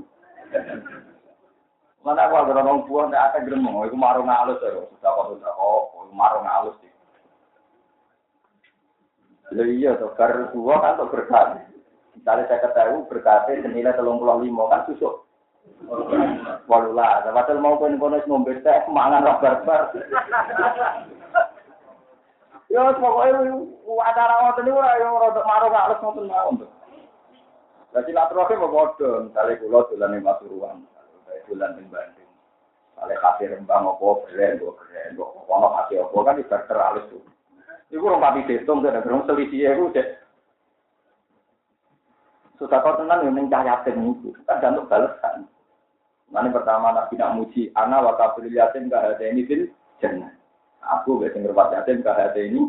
Mana gua orang buang tidak ada gremeng. Itu marung halus ya. Sudah marung halus sih. Iya tuh. Karena buang kan untuk berkat. Misalnya saya ketahui berkatnya senilai 35 kan susuk. Walulah. Padahal mau kono-kono ngombe teh mangan lah barbar. Ya pokoknya acara ngoten niku ora yo rada marung halus ngoten mawon. Dadi latroke padha, misale kula dolan ing Pasuruan, dolan ing Bandung. Kale kasih rembang apa keren, ono kasih apa kan ibarat halus tuh. Iku rong papi detung dan gerung selisih iku cek. Sudah kau tenan yo ning cahyaten niku, kan untuk balasan. Mane pertama Nabi nak muji ana wa kafir yatim ka hada ini fil jannah. Aku gak sing ngerpat yatim KHT ini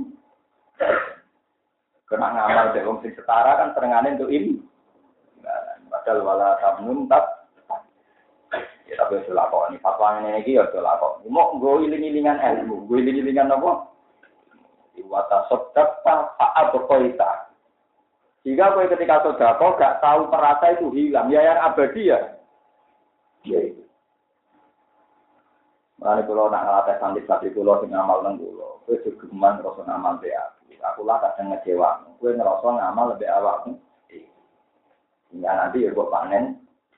kena ngamal dari wong sing setara kan terengane untuk ini. Padahal wala tamun tak. Ya tapi wis lakoni. Fatwa ngene iki ya lakoni. Mau nggo iling-ilingan ilmu, nggo iling-ilingan apa? Iwata sedekah fa'al berkoita. Jika kowe ketika sedekah gak tahu perasa itu hilang, ya yang abadi ya. Ya. Mulane kula nak ngelatih santri-santri kula sing ngamal nang kula. Kowe gegeman ngrasa ngamal be aku. Aku lah kadang ngecewa. Kowe ngrasa ngamal lebih awakmu. Ya nanti ya kok panen.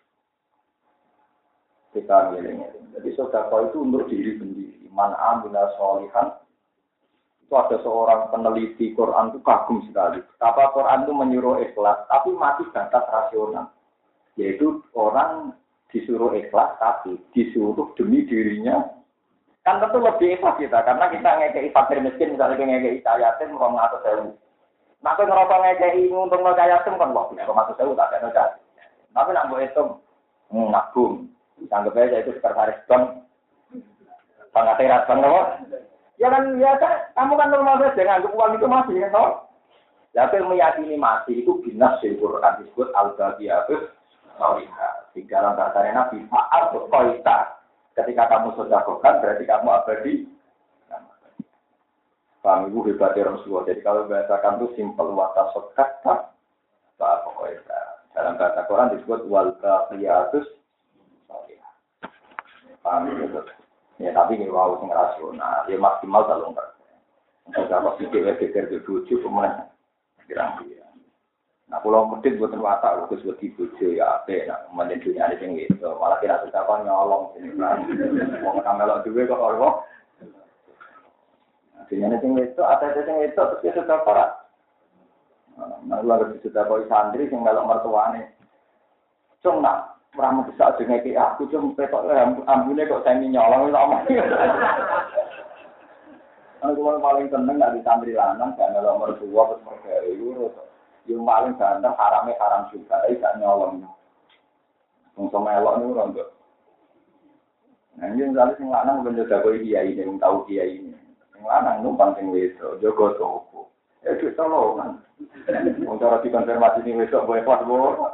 Kita ngeling-eling. Jadi sedekah itu untuk diri sendiri. Man amila sholihan. Itu ada seorang peneliti Quran itu kagum sekali. Betapa Quran itu menyuruh ikhlas, tapi masih batas rasional. Yaitu orang disuruh ikhlas, tapi disuruh demi dirinya. Kan tentu lebih ikhlas kita, karena kita ngekei fakir miskin, misalnya ngekei cayatin, 200.000. Nah, kalau ngerasa ngekei untung cayatin, kan wah, 200.000 tak ada noda. Tapi nak buat itu, nabung. Anggap aja itu sekretaris bank. Sangat teras bank, no? Ya kan, kamu kan normal saja, nganggap uang itu masih, ya, no? Ya, kalau meyakini masih, itu binas di Quran disebut al-Baqiyatut Sholihah. Di dalam bahasa Nabi, fa'al berkoita. Ketika kamu sedekahkan, berarti kamu abadi. Paham ibu hebatnya Rasulullah. Jadi kalau bahasakan itu simpel, wata sedekah, fa'al berkoita. Dalam bahasa Quran disebut wal baqiyatus sholihah. Paham ya? Ya tapi ini wow sing rasional, ya maksimal 3%. Enggak kok pikir-pikir ke bojo kemudian kira-kira. Nah, kalau medit buatan watak, khusus buat bojo ya apik, nah kemudian dunia ini sing gitu, malah kira sudah kan nyolong sini kan. Mau ngamelok duwe kok ora. Nah, dunia ini sing itu, ada sing itu terus dia sudah parah. Nah, lalu sudah koi santri sing melok mertuane. Cung nak ora bisa dengeki aku cung petok ambune kok semi nyolong iso omong. Aku paling seneng nek santri lanang gak melok mertua terus mergawe iku. Yang paling ganteng haram juga, gak nyolong. Wong melok niku ora nduk. Nah, yen jare sing lanang ben jaga koi kiai ini, tau kiai ini. Sing lanang numpang sing wedok, jaga toko. Itu tolongan. Wong cara dikonfirmasi ning besok boleh pas bo.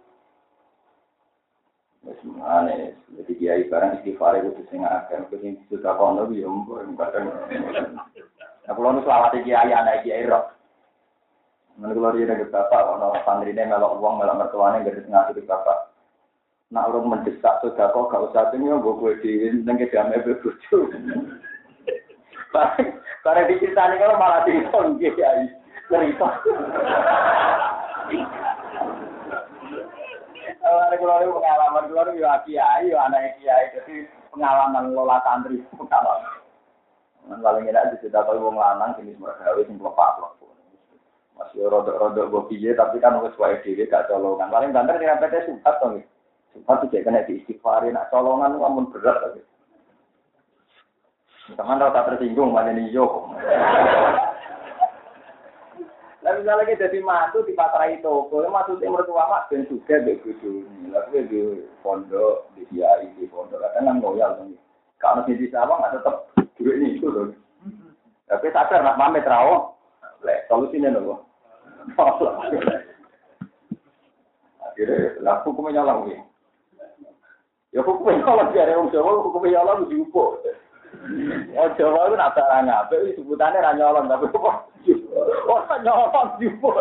Wis mane, jadi kiai barang istighfar itu sing akeh, sing sudah kono yo kadang. Nah, kalau nu selawat kiai anak kiai roh. Men kula riyen nek bapak ana santrine melok wong melok mertuane gede ngasih bapak. Nak urung mendesak sedekah gak usah tenyo mbok kowe dhewe ning kedame bojo. Karena diceritani kalau malah dikon kiai. Cerita. Kalau itu pengalaman keluar ya kiai, ya anak kiai, jadi pengalaman lola santri pengalaman. Paling enak sudah tahu wong lanang jenis mergawe sing lepak-lepak. Masih rodok-rodok bobiye tapi kan wis wae dhewe gak colongan. Paling banter nyerempete sumpah to nggih. Sumpah iki kena diistighfarin, nak colongan amun berat tapi. Teman ora tersinggung maneni yo. Lah misalnya kita jadi mantu di pasrai toko, maksudnya mertua mak ben juga mbek bojone. Lah kuwi di pondok, di kiai di pondok, kadang nang loyal to. Kalau di sawang ada tetep duit ini itu lho. Tapi sadar nak pamit rawo. Lek solusine lho. Akhirnya lah hukumnya nyolong iki. Ya hukumnya nyolong jare wong Jawa hukumnya nyolong diupo. Oh Jawa itu nak barang apik sebutannya ra nyolong tapi kok ora nyolong diupo.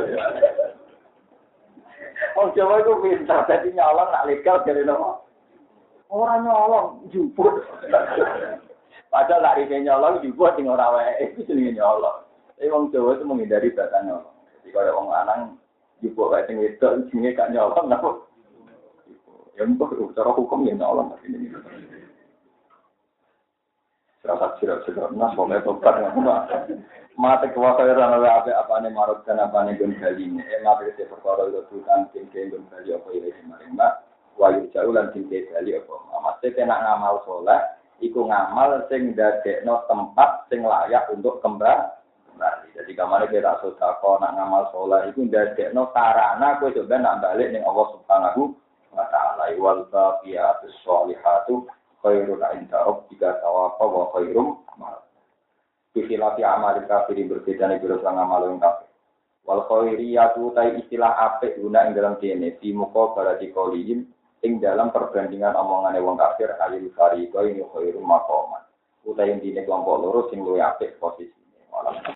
Oh Jawa itu pintar dadi nyolong nak legal jare nopo. Ora nyolong juput. Padahal nak rene nyolong juput sing ora wae iku jenenge nyolong. Tapi wong Jawa itu menghindari bahasa nyolong. Jadi kalau wong lanang juput kae sing wedok jenenge gak nyolong napa. Ya mbok cara hukum ya nyolong ini. Rasa sirat-sirat nas boleh tobat ngono. Mate kuwasa ora ana apa-apane marut dan apane gon galine. Mate se perkara itu tutan sing gon gali apa iki maring mbak. Wayu jauh lan sing gali apa. Mate kena ngamal saleh iku ngamal sing ndadekno tempat sing layak untuk kembali. Jadi kamane kita sedekah nak ngamal saleh iku ndadekno sarana kowe coba nak balik ning Allah Subhanahu wa taala. Wal baqiyatus sholihatu khairun inda rabbika thawaaba wa khairum amal. Istilah amal kafir berbeda nih biro sang amal yang kafir. Wal khairiyatu tai istilah apik guna ing dalam dene di muka barati qaulihim ing dalam perbandingan omongane wong kafir alil fariqo ini khairum maqaman. Utai dene kelompok loro sing luwih apik posisine.